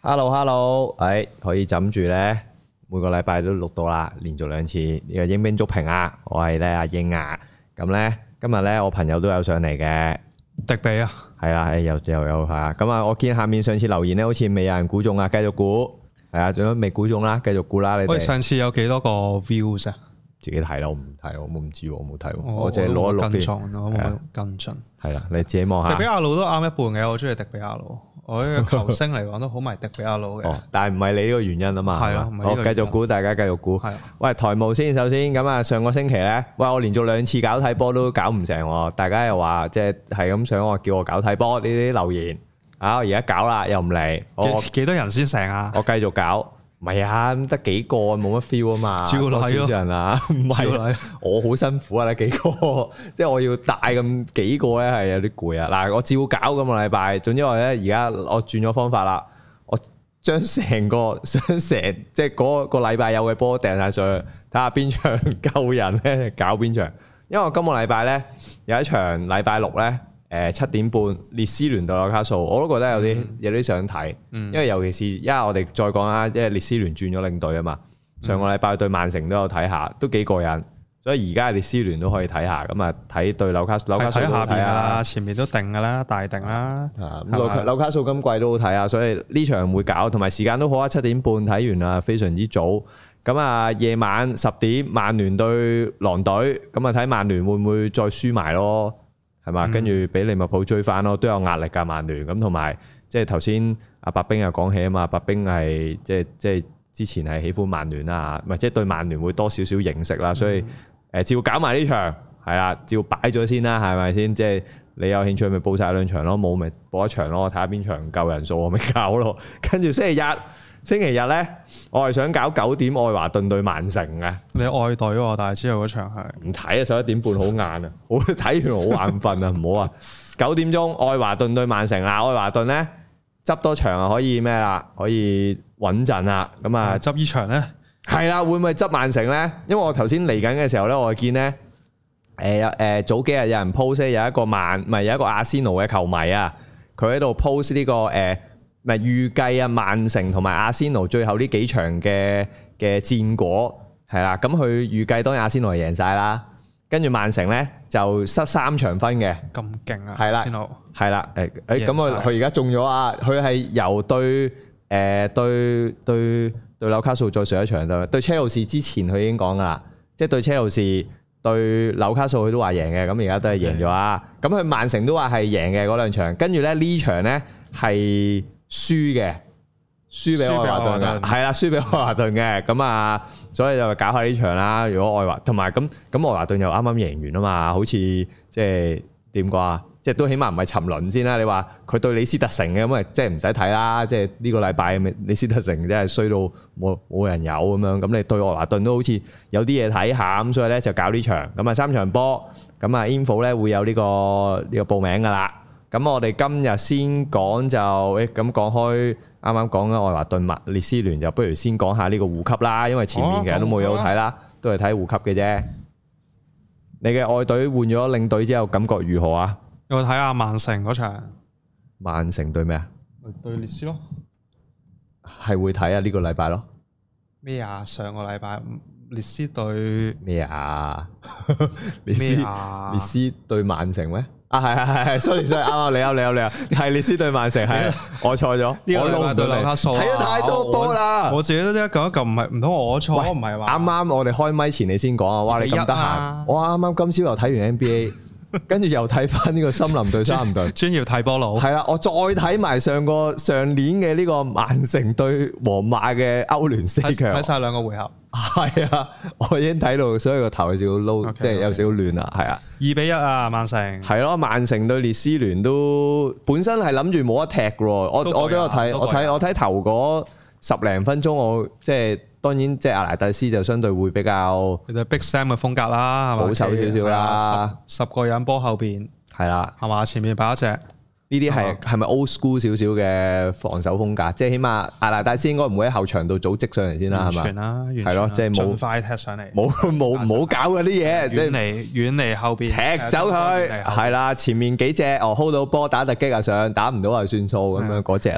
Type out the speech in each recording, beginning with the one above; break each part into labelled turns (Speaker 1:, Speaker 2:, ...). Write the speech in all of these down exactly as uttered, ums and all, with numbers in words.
Speaker 1: Hello Hello，誒可以枕住咧，每個禮拜都錄到啦，連續兩次呢個鷹兵足評啊，我係咧阿鷹啊，咁咧今日咧我朋友都有上嚟嘅，
Speaker 2: 迪比啊，
Speaker 1: 係啦，誒又又有嚇，咁啊我見下面上次留言咧好似未有人估中啊，繼續估，係啊，仲有未估中啦，繼續估啦你哋。
Speaker 2: 喂，上次有幾多個 views 啊？
Speaker 1: 自己睇啦，我唔睇，我唔知喎，我冇睇喎，
Speaker 2: 我
Speaker 1: 我淨係攞一錄
Speaker 2: 啲，我冇跟進。
Speaker 1: 係啦，你自己望下。
Speaker 2: 迪比亞魯都啱一半嘅，我中意迪比亞魯。我呢個球星嚟講都好迷迪比亞魯嘅。
Speaker 1: 哦，但係唔係你呢個原因啊嘛。係啊，我繼續估，大家繼續估。係。喂，台務先，首先咁啊，上個星期咧，喂，我連續兩次搞睇波都搞唔成喎，大家又話即係係咁想我叫我搞睇波呢啲留言，啊，我而家搞啦，又唔嚟。我
Speaker 2: 幾多人先成啊？
Speaker 1: 我繼續搞。唔係啊，得幾個冇乜 feel 啊嘛，
Speaker 2: 照嚟咯，
Speaker 1: 少少人啊，唔係，我好辛苦啊，得幾個，即係我要帶咁幾個咧，係有啲攰啊。嗱，我照搞咁個禮拜，總之我咧而家我轉咗方法啦，我將成個將成即係嗰個禮拜有嘅波掟晒上去，睇下邊場夠人咧搞邊場。因為我今個禮拜咧有一場禮拜六咧。誒七點半列斯聯對紐卡素，我都覺得有啲、嗯、有啲想睇，因為尤其是因為我哋再講啦，因為列斯聯轉咗領隊啊嘛，上個禮拜對曼城都有睇下，都幾過癮，所以而家列斯聯都可以睇下，咁啊睇對紐卡紐卡素都睇下，
Speaker 2: 前面都定噶啦，大定啦，
Speaker 1: 咁紐紐卡素今季都好睇啊，所以呢場會搞，同埋時間都好啊，七點半睇完啊，非常之早，咁啊夜晚十點曼聯對狼隊，咁啊睇曼聯會唔會再輸埋咯？係嘛？跟住俾利物浦追翻咯，都有壓力㗎曼聯咁，同埋即係頭先阿白兵又講起啊嘛，白兵係即係即係之前係喜歡曼聯啦，唔係即係對曼聯會多少少認識啦，所以誒照搞埋呢場係啦，照擺咗先啦，係咪先？即係你有興趣咪報晒兩場咯，冇咪報一場咯，睇下邊場夠人數我咪搞咯。跟住星期日。星期日咧，我係想搞九點愛華頓對曼城嘅。
Speaker 2: 你愛隊喎，但係之後嗰場係唔
Speaker 1: 睇啊！十一點半好晏啊，好睇完好眼瞓啊，唔好啊！九點鐘愛華頓對曼城啊，愛華頓咧執多場啊，可以咩啦？可以穩陣啦。咁啊，
Speaker 2: 執呢場咧
Speaker 1: 係啦，會唔會執曼城咧？因為我頭先嚟緊嘅時候咧，我見咧誒誒早幾日有人 post 有一個曼唔係有一個阿仙奴嘅球迷啊，佢喺度 post 呢個誒。呃咪預計啊，曼城同埋阿仙奴最後呢幾場嘅嘅戰果係啦，咁佢預計當然阿仙奴係贏晒啦，跟住曼城咧就失三場分嘅，
Speaker 2: 咁勁啊！
Speaker 1: 係啦，係啦，誒誒，咁啊佢而家中咗啊，佢係由對誒、呃、對對對紐卡素再上一場對對車路士之前佢已經講噶啦，即係對車路士對紐卡素佢都話贏嘅，咁而家都係贏咗啊，咁佢曼城都話係贏嘅嗰兩場，跟住咧呢場咧係。輸嘅，輸俾愛華頓嘅，係啦，輸俾愛華頓嘅，咁啊，所以就搞下呢場啦。如果愛華同埋咁咁愛華頓又啱啱贏完啊嘛，好似即係點講啊？即係都起碼唔係沉淪先啦。你話佢對李斯特城嘅咁啊，即係唔使睇啦。即係呢個禮拜李斯特城真係衰到冇冇人有咁樣。咁你對愛華頓都好似有啲嘢睇下咁，所以咧就搞呢場。咁啊三場波，咁啊 info 咧會有呢個呢個報名噶啦。咁我哋今日先講就誒咁講開，啱啱講嘅愛華頓麥列斯聯，就不如先講下呢個護級啦，因為前面其實都冇嘢好睇啦，都係睇護級嘅啫。你嘅愛隊換咗領隊之後，感覺如何啊？
Speaker 2: 有睇下曼城嗰場。
Speaker 1: 曼城對咩啊？
Speaker 2: 對列斯咯。
Speaker 1: 係會睇啊？呢個禮拜咯。咩
Speaker 2: 啊？上個禮拜列斯對
Speaker 1: 咩啊？列斯列斯對曼城咩？啊係係係係 ，sorry sorry，啱啱你啱你啱你啱，係列斯對曼城係，我錯咗，我撈唔到紐卡素，睇咗太多波啦，
Speaker 2: 我自己都即係講一嚿，唔係唔通我錯，唔係話啱
Speaker 1: 啱我哋開麥前你先講啊，哇你咁得閒，我啱啱今朝又睇完 N B A。跟住又睇翻呢個森林對沙林隊，
Speaker 2: 專業睇波佬。
Speaker 1: 係啦，我再睇埋上個上年嘅呢個曼城對皇馬嘅歐聯四強，
Speaker 2: 睇晒兩個回合。
Speaker 1: 係啊，我已經睇到，所以個頭有少少撈，即係有少少亂啦。係啊，
Speaker 2: 二比一啊，曼城。係
Speaker 1: 咯，曼城對列斯聯都本身係諗住冇得踢嘅，我我都有睇，我睇我睇頭嗰十零分鐘，我即係。當然，即係阿拿蒂斯就相對會比較，
Speaker 2: 其實 Big Sam 嘅風格啦，
Speaker 1: 保守少少啦。
Speaker 2: 十十個人波後邊
Speaker 1: 係啦，係
Speaker 2: 嘛？前面擺一隻，呢
Speaker 1: 啲係係咪 old school 少少嘅防守風格？即係起碼阿拿蒂斯應該唔會喺後場度組織上嚟先啦，係嘛？
Speaker 2: 完全啦，
Speaker 1: 係咯，即係冇
Speaker 2: 快踢上嚟，
Speaker 1: 冇冇唔好搞嗰啲嘢，即係
Speaker 2: 遠離遠離後邊
Speaker 1: 踢走佢，係啦，前面幾隻哦 hold 到波打突擊啊上，打唔到就算數咁樣嗰隻啦。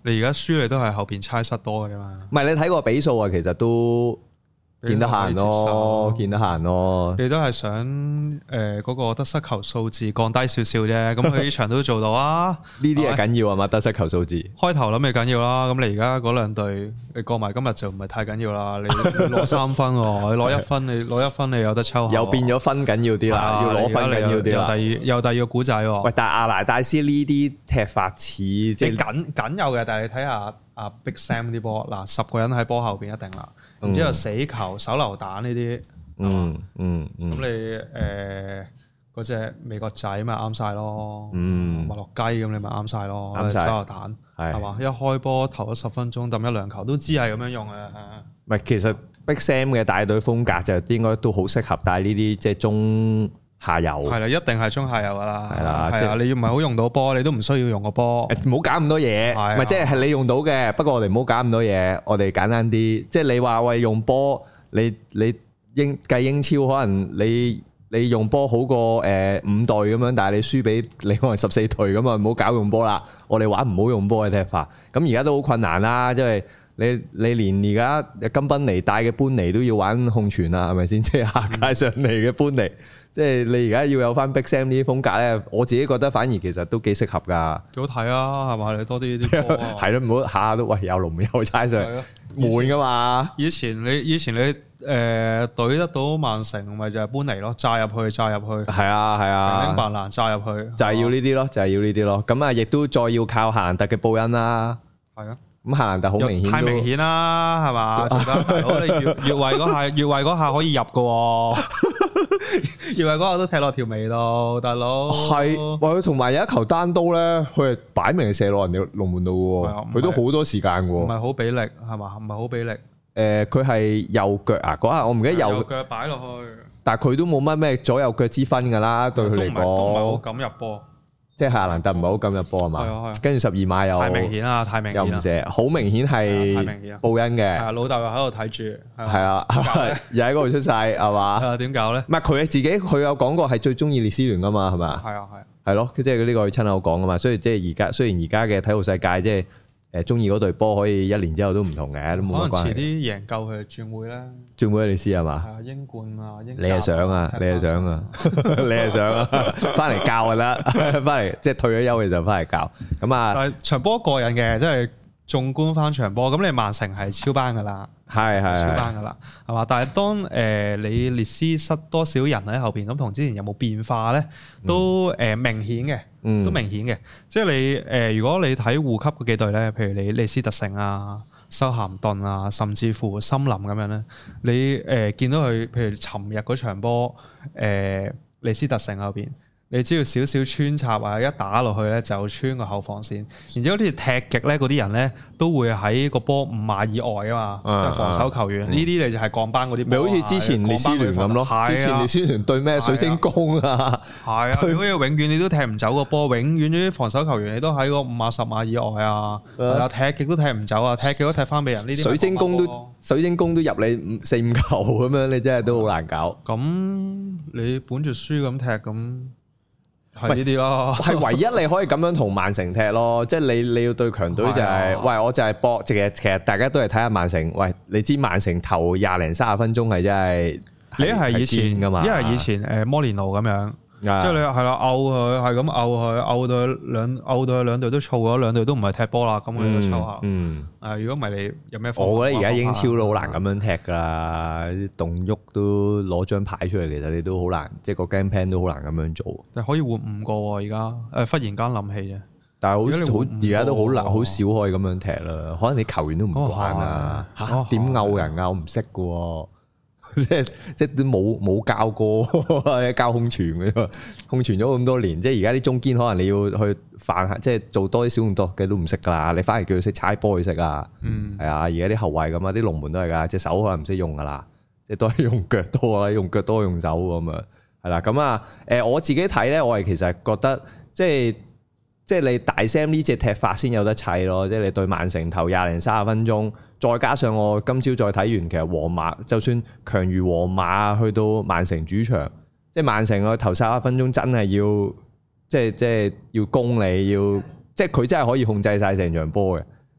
Speaker 2: 你而家輸你都係後邊猜失多嘅啫嘛。
Speaker 1: 唔係你睇個比數啊，其實都。見得閒咯，見得閒咯。
Speaker 2: 你都係想誒嗰個得失球數字降低少少啫，咁佢呢場都做到啊！
Speaker 1: 呢啲係緊要啊嘛，得失球數字。
Speaker 2: 開頭諗你緊要啦，咁你而家嗰兩隊你過埋今日就唔係太緊要啦。你攞三分喎，你攞一分，你攞一分你有得抽。
Speaker 1: 又變咗分緊要啲啦，要攞分緊要啲啦。
Speaker 2: 又第二又第二個古仔喎。
Speaker 1: 喂，但係阿拿大斯呢啲踢法似即係
Speaker 2: 緊緊有嘅，但係你睇下阿 Big Sam 啲波，嗱十個人喺波後邊一定啦。然之後死球、手榴彈呢啲，
Speaker 1: 嗯嗯嗯，
Speaker 2: 咁你誒嗰隻美國仔咪啱晒咯，
Speaker 1: 嗯，
Speaker 2: 麥樂雞咁你咪啱晒咯，
Speaker 1: 啱晒
Speaker 2: 手榴彈係嘛？一開波頭咗十分鐘抌一兩球都知係咁樣用嘅。
Speaker 1: 唔係，其實 Big Sam 嘅帶隊風格就應該都好適合帶呢啲即係中下游。係啦，
Speaker 2: 一定係中下游噶啦。係啦，
Speaker 1: 即係
Speaker 2: 你要唔係好用到波，你都唔需要用個波。
Speaker 1: 唔好搞咁多嘢，唔係即係係你用到嘅。不過我哋唔好搞咁多嘢，我哋簡單啲。即係你話喂用波，你你英計英超可能你你用波好過誒五隊咁樣，但係你輸俾你可能十四隊咁啊，唔好搞用波啦。我哋玩唔好用波嘅踢法。咁而家都好困難啦，因為你你連而家金賓尼帶嘅般尼都要玩控傳啦，係咪先？即係下屆上嚟嘅般尼。即係你而家要有翻 Big Sam 呢啲風格咧，我自己覺得反而其實都幾適合㗎。
Speaker 2: 幾好睇啊，係嘛？你多啲啲波啊。
Speaker 1: 係咯，唔好下下都喂有龍有猜上，悶㗎嘛。
Speaker 2: 以前你以前你誒隊得到曼城，咪就係般尼咯，炸入去，炸入去。
Speaker 1: 係啊係啊，
Speaker 2: 明白啦，炸入去。
Speaker 1: 就係要呢啲咯，就係要呢啲咯。咁啊，亦都再要靠夏蘭特嘅報恩啦。
Speaker 2: 係啊。
Speaker 1: 咁夏蘭特好明顯，
Speaker 2: 太明顯啦，係嘛？大佬你越越位嗰下，越位嗰下可以入㗎。越位嗰下都踢落條尾度，大佬。係，
Speaker 1: 喂，同埋有一球單刀咧，佢係擺明射落人哋龍門度喎，佢都好多時間喎。唔
Speaker 2: 係好俾力係嘛？唔係好俾力。
Speaker 1: 誒，佢係右腳啊！嗰下我唔記得右
Speaker 2: 腳擺落去。
Speaker 1: 但係佢都冇乜咩左右腳之分㗎啦，對佢嚟講。
Speaker 2: 都唔係好敢入波。即係
Speaker 1: 夏蘭特唔係好敢入波啊嘛，跟住十二碼又
Speaker 2: 太明顯啦，太明顯
Speaker 1: 又唔射，好明顯係報恩嘅。
Speaker 2: 係老豆又喺度睇住，
Speaker 1: 係啊，又喺嗰度出世係嘛？
Speaker 2: 係啊，點搞咧？
Speaker 1: 唔係佢自己，佢有講過係最中意列斯聯噶嘛，係咪？
Speaker 2: 係啊，係。
Speaker 1: 係咯，即係呢個佢親口講噶嘛，所以即係而家雖然而家嘅體育世界即係。誒中意嗰隊波可以一年之後都唔同嘅，都冇乜關係。可能遲啲贏夠佢轉會咧，轉會你試係嘛？係啊，英冠啊，英。你係想啊，你係想啊，你係想啊，翻嚟教就得，翻嚟即係退咗休嘅就翻嚟教。咁啊，
Speaker 2: 但係場波過癮嘅，即係縱觀翻場波，咁你曼城係超班噶啦，
Speaker 1: 係係
Speaker 2: 超班噶啦，係嘛？但係當誒你列斯失多少人喺後邊，咁同之前有冇變化咧？都誒明顯嘅。都明顯嘅，即係你誒、呃，如果你睇護級嗰幾隊咧，譬如你利斯特城啊、修咸頓啊，甚至乎森林咁樣咧，你誒、呃、見到佢，譬如尋日嗰場波，誒、呃、利斯特城後邊，你只要少少穿插啊，一打落去咧就穿個後防線，然之後啲踢極咧嗰啲人咧都會喺個波五碼以外啊嘛，即係、啊、防守球員，呢啲、嗯、你就係降班嗰啲，
Speaker 1: 咪好似之前列斯聯咁咯，之前列斯聯對咩水晶宮啊，
Speaker 2: 係啊，好似永遠你都踢唔走個波，永遠啲防守球員你都喺個五碼十碼以外啊，係啊，踢極都踢唔走啊，踢極都踢翻俾人，呢啲
Speaker 1: 水晶宮都水晶宮都入你四五球咁樣，你真係都好難搞。
Speaker 2: 咁你本住輸咁踢咁。係呢啲咯，
Speaker 1: 係唯一你可以咁樣同曼城踢咯，即係你你要對強隊就係、是，喂我就係搏，其實其實大家都係睇下曼城，喂你知曼城頭廿零三十分鐘係真係，
Speaker 2: 你係以前噶嘛，一係以前誒摩連奴咁樣。即係你係啦，拗佢係咁拗佢，拗到兩拗到兩隊都燥咗，兩隊都唔係踢波啦，咁我哋就抽下。嗯，誒，如果唔係你有咩？
Speaker 1: 我覺得而家英超都好難咁樣踢噶啦，啲動喐都攞張牌出嚟，其實你都好難，即係個 game plan 都好難咁樣做。
Speaker 2: 但可以換五個喎，而家誒忽然間諗起啫。
Speaker 1: 但係好好而家都好難，好少可以咁樣踢啦。可能你球員都唔慣啊，嚇點拗人啊？我唔識嘅喎。即係即係都冇冇教過，教控傳嘅，控傳咗咁多年，即係而家啲中堅可能你要去犯下，即係做多啲小動作嘅都唔識噶啦，你反而叫佢識猜波佢識啊，嗯，係啊，而家啲後衞咁啊，啲龍門都係噶，隻手可能唔識用噶啦，即係都係用腳多啦，用腳多用手咁啊，係啦，咁啊，誒我自己睇咧，我係其實覺得即係即係你大 Sam 呢隻踢法先有得砌咯，即係你對曼城頭廿零三十分鐘。再加上我今朝再睇完，其實皇馬就算強如皇馬去到曼城主場，即係曼城個頭三十分鐘真係要，即係即係要攻你，要即係佢真係可以控制晒成場波嘅。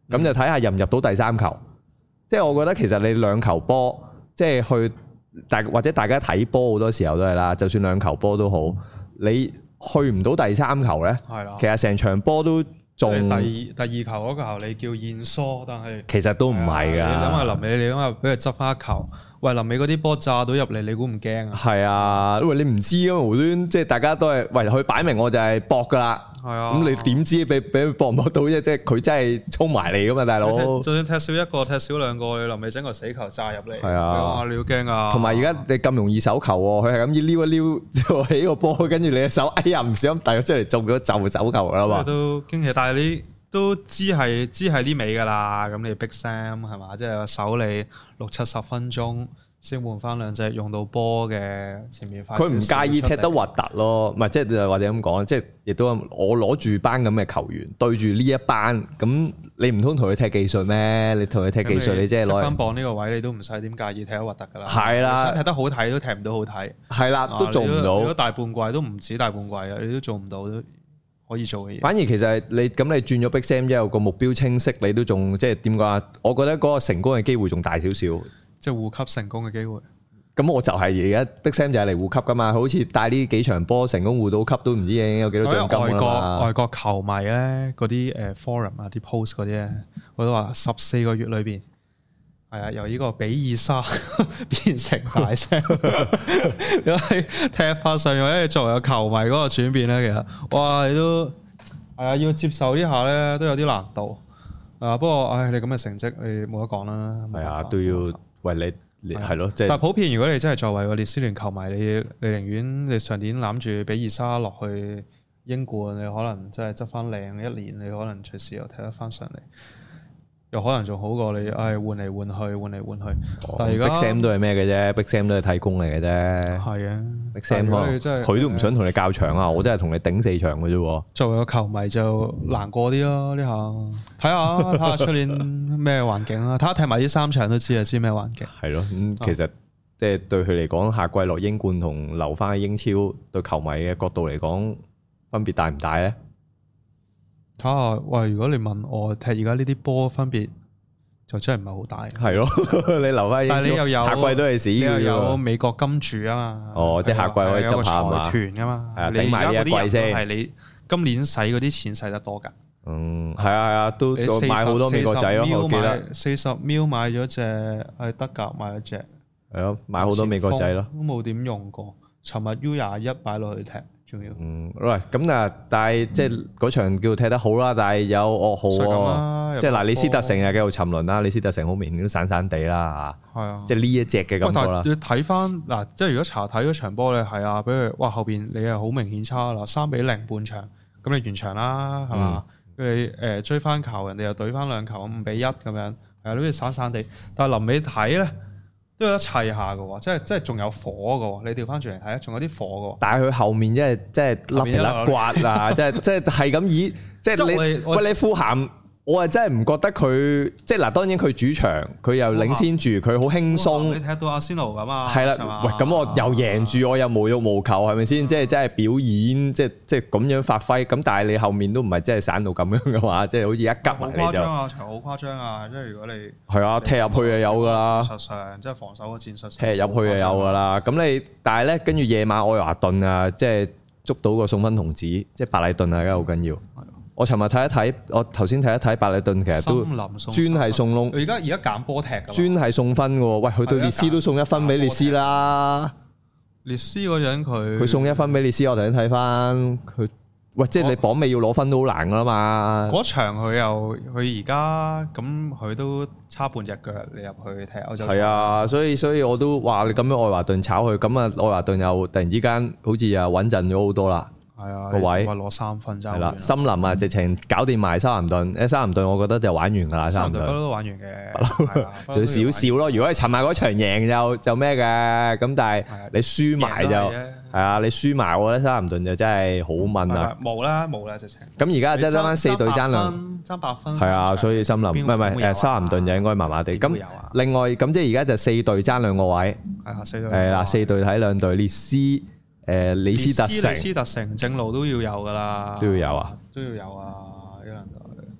Speaker 1: 咁就睇下入唔入到第三球。即係我覺得其實你兩球波，即係去大或者大家睇波好多時候都係啦，就算兩球波都好，你去唔到第三球咧，係啦，其實成場波都仲
Speaker 2: 第二第二球嗰球你叫燕梳，但係
Speaker 1: 其實都唔係㗎。你
Speaker 2: 諗下臨尾，你諗下俾佢執翻一球。喂，臨尾嗰啲波炸到入嚟，你估唔驚啊？係
Speaker 1: 啊，因為你唔知啊嘛，無端即係大家都係喂佢擺明我就係搏噶啦。係啊，咁你點知俾俾佢搏唔搏到啫？即係佢真係衝埋嚟噶嘛，大佬。
Speaker 2: 就算踢少一個，踢少兩個，你臨尾整個死球炸入嚟，
Speaker 1: 係啊，
Speaker 2: 你好驚啊！
Speaker 1: 同埋而家你咁容易手球喎，佢係咁要撩一撩就起個波，跟住你嘅手哎呀唔小心遞咗出嚟中咗就手球啦嘛。
Speaker 2: 都驚喜，但係你都知係知係呢尾噶啦。咁你 Big Sam 係嘛？即係守你六七十分鐘。先換翻兩隻用到波嘅前面快，佢
Speaker 1: 唔介意踢得核突咯，唔係即係或者咁講，即係亦都我攞住班咁嘅球員對住呢一班，咁你唔通同佢踢技術咩？你同佢踢技術，你即係攞翻
Speaker 2: 磅呢個位，你都唔使點介意踢得核突噶啦。
Speaker 1: 係啦，
Speaker 2: 踢得好睇都踢唔到好睇。
Speaker 1: 係啦，都做唔到。
Speaker 2: 如果大半季都唔止大半季啦，你都做唔到都可以做嘅嘢。
Speaker 1: 反而其實你咁你轉咗 Big Sam 之後個目標清晰，你都仲即係點講啊？我覺得嗰個成功嘅機會仲大少少。
Speaker 2: 即係護級成功嘅機會，
Speaker 1: 咁我就係而家 Big Sam 就係嚟護級噶嘛，好似帶呢幾場波成功護到級都唔知已經有幾多獎金啦嘛。
Speaker 2: 外國外國球迷咧，嗰啲誒 forum 啊，啲 post 嗰啲咧，我都話十四個月裏邊，係啊，由呢個比爾沙變成大聲，因為踢法上又咧作為個球迷嗰個轉變咧，其實哇，你都係啊，要接受呢下咧都有啲難度啊。不過唉，你咁嘅成績你冇得講啦，
Speaker 1: 係啊，都要。喂，你係咯，即係。
Speaker 2: 但係普遍，如果你真係作為個列斯聯球迷，你你寧願你上年攬住比爾沙落去英冠，你可能真係執翻靚一年，你可能隨時又踢得翻上嚟，又可能仲好過你唉換嚟換去，換嚟換去。哦、但係而家
Speaker 1: Big Sam 都係咩嘅啫 Big Sam 都係替工嚟嘅啫。係啊 Big Sam 佢都唔想同你較場啊，我真係同你頂四場嘅啫。
Speaker 2: 作為個球迷就難過啲咯，呢下睇下睇下出年咩環境啦，睇下踢埋呢三場都知啊，知咩環境。
Speaker 1: 係咯，咁、嗯、其實即係對佢嚟講，下季落英冠同留翻喺英超，對球迷嘅角度嚟講，分別大唔大咧？
Speaker 2: 睇下喂，如果你問我踢而家呢啲波分別，就真係唔係好大。係
Speaker 1: 咯，你留翻英超，
Speaker 2: 但係你又有
Speaker 1: 下季都係死嘅。
Speaker 2: 你又有美國金主啊嘛。
Speaker 1: 哦，即係下季可以執下嘛。
Speaker 2: 財團啊嘛。
Speaker 1: 係啊，頂埋呢一季先。
Speaker 2: 係你今年使嗰啲錢使得多㗎。
Speaker 1: 嗯，係啊係啊，都買好多美國仔咯，我記得。
Speaker 2: 四十 mil 買咗隻係德甲買咗隻。
Speaker 1: 係咯，買好多美國仔咯。
Speaker 2: 都冇點用過，尋日 U 廿一擺落去踢。
Speaker 1: 嗯，喂，咁啊，但係即係嗰場叫踢得好啦，但係有噩耗喎，即係嗱，李斯特城又繼續沉淪啦，李斯特城好明顯都散散地啦嚇，係啊，即係呢一隻嘅感覺啦。
Speaker 2: 你睇翻嗱，即係如果查睇嗰場波咧，係啊，比如哇後邊你係好明顯差啦，三比零半場，咁你完場啦，係嘛？跟住誒追翻球，人哋又懟翻兩球，五比一咁樣，係啊，好似散散地，但係臨尾睇咧。都有得砌下嘅喎，即係即係仲有火嘅喎。你調翻轉嚟睇，仲有啲火嘅喎。但係佢後面即係即係甩皮甩刮啊！即係即係係咁以即係你喂你富咸，我係真係唔覺得佢即係嗱。當然佢主場佢又領先住，佢好輕鬆。你踢到阿仙奴咁啊？係啦，喂，咁我又贏住，我又無欲無求，係咪先？即係真係表演，即係即係咁樣發揮。咁但係你後面都唔係真係散到咁樣嘅話，即係好似一急埋你就。好誇張啊！場好誇張啊！即係如果你係啊，踢入去就有㗎啦。戰術上即係防守嘅戰術。踢入去就有㗎啦。咁你但係咧，跟住夜晚愛華頓啊，即係捉到個送分童子，即係白禮頓啊，而家好緊要。我尋日睇一睇，我頭先睇一睇白禮頓，其實都專係送窿。 而家而家揀波踢㗎。
Speaker 1: 專係送分喎，喂，佢對列斯都送一分俾列斯啦。
Speaker 2: 列斯嗰陣佢
Speaker 1: 佢送一分俾列斯，我頭先睇翻佢，喂，即係你榜尾要攞分都好難㗎啦嘛。嗰
Speaker 2: 場佢又佢而家咁佢都差半隻腳，你入去踢歐洲。
Speaker 1: 係啊，所以所以我都話你咁樣愛華頓炒佢，咁啊愛華頓又突然之間好似又穩陣咗好多啦。
Speaker 2: 係啊，
Speaker 1: 個位
Speaker 2: 攞三分就係
Speaker 1: 啦。森林啊，直情搞掂埋修咸頓。誒，修咸頓我覺得就玩完㗎啦。修咸頓
Speaker 2: 都玩完嘅，
Speaker 1: 就少少咯。如果你尋晚嗰場贏就就咩嘅，咁但係你輸埋就係啊，你輸埋我覺得修咸頓就真係好悶啊。
Speaker 2: 冇啦冇啦，直情。
Speaker 1: 咁而家真係爭翻四隊爭兩
Speaker 2: 爭八分。
Speaker 1: 係啊，所以森林唔係唔係誒修咸頓就應該麻麻地。咁另外咁即係而家就四隊爭兩個位。係啊，四隊。係啦，四隊睇兩隊列斯。誒，李斯特城，
Speaker 2: 李斯特城正路都要有噶啦，
Speaker 1: 都要有啊，
Speaker 2: 都要有啊，一兩隊。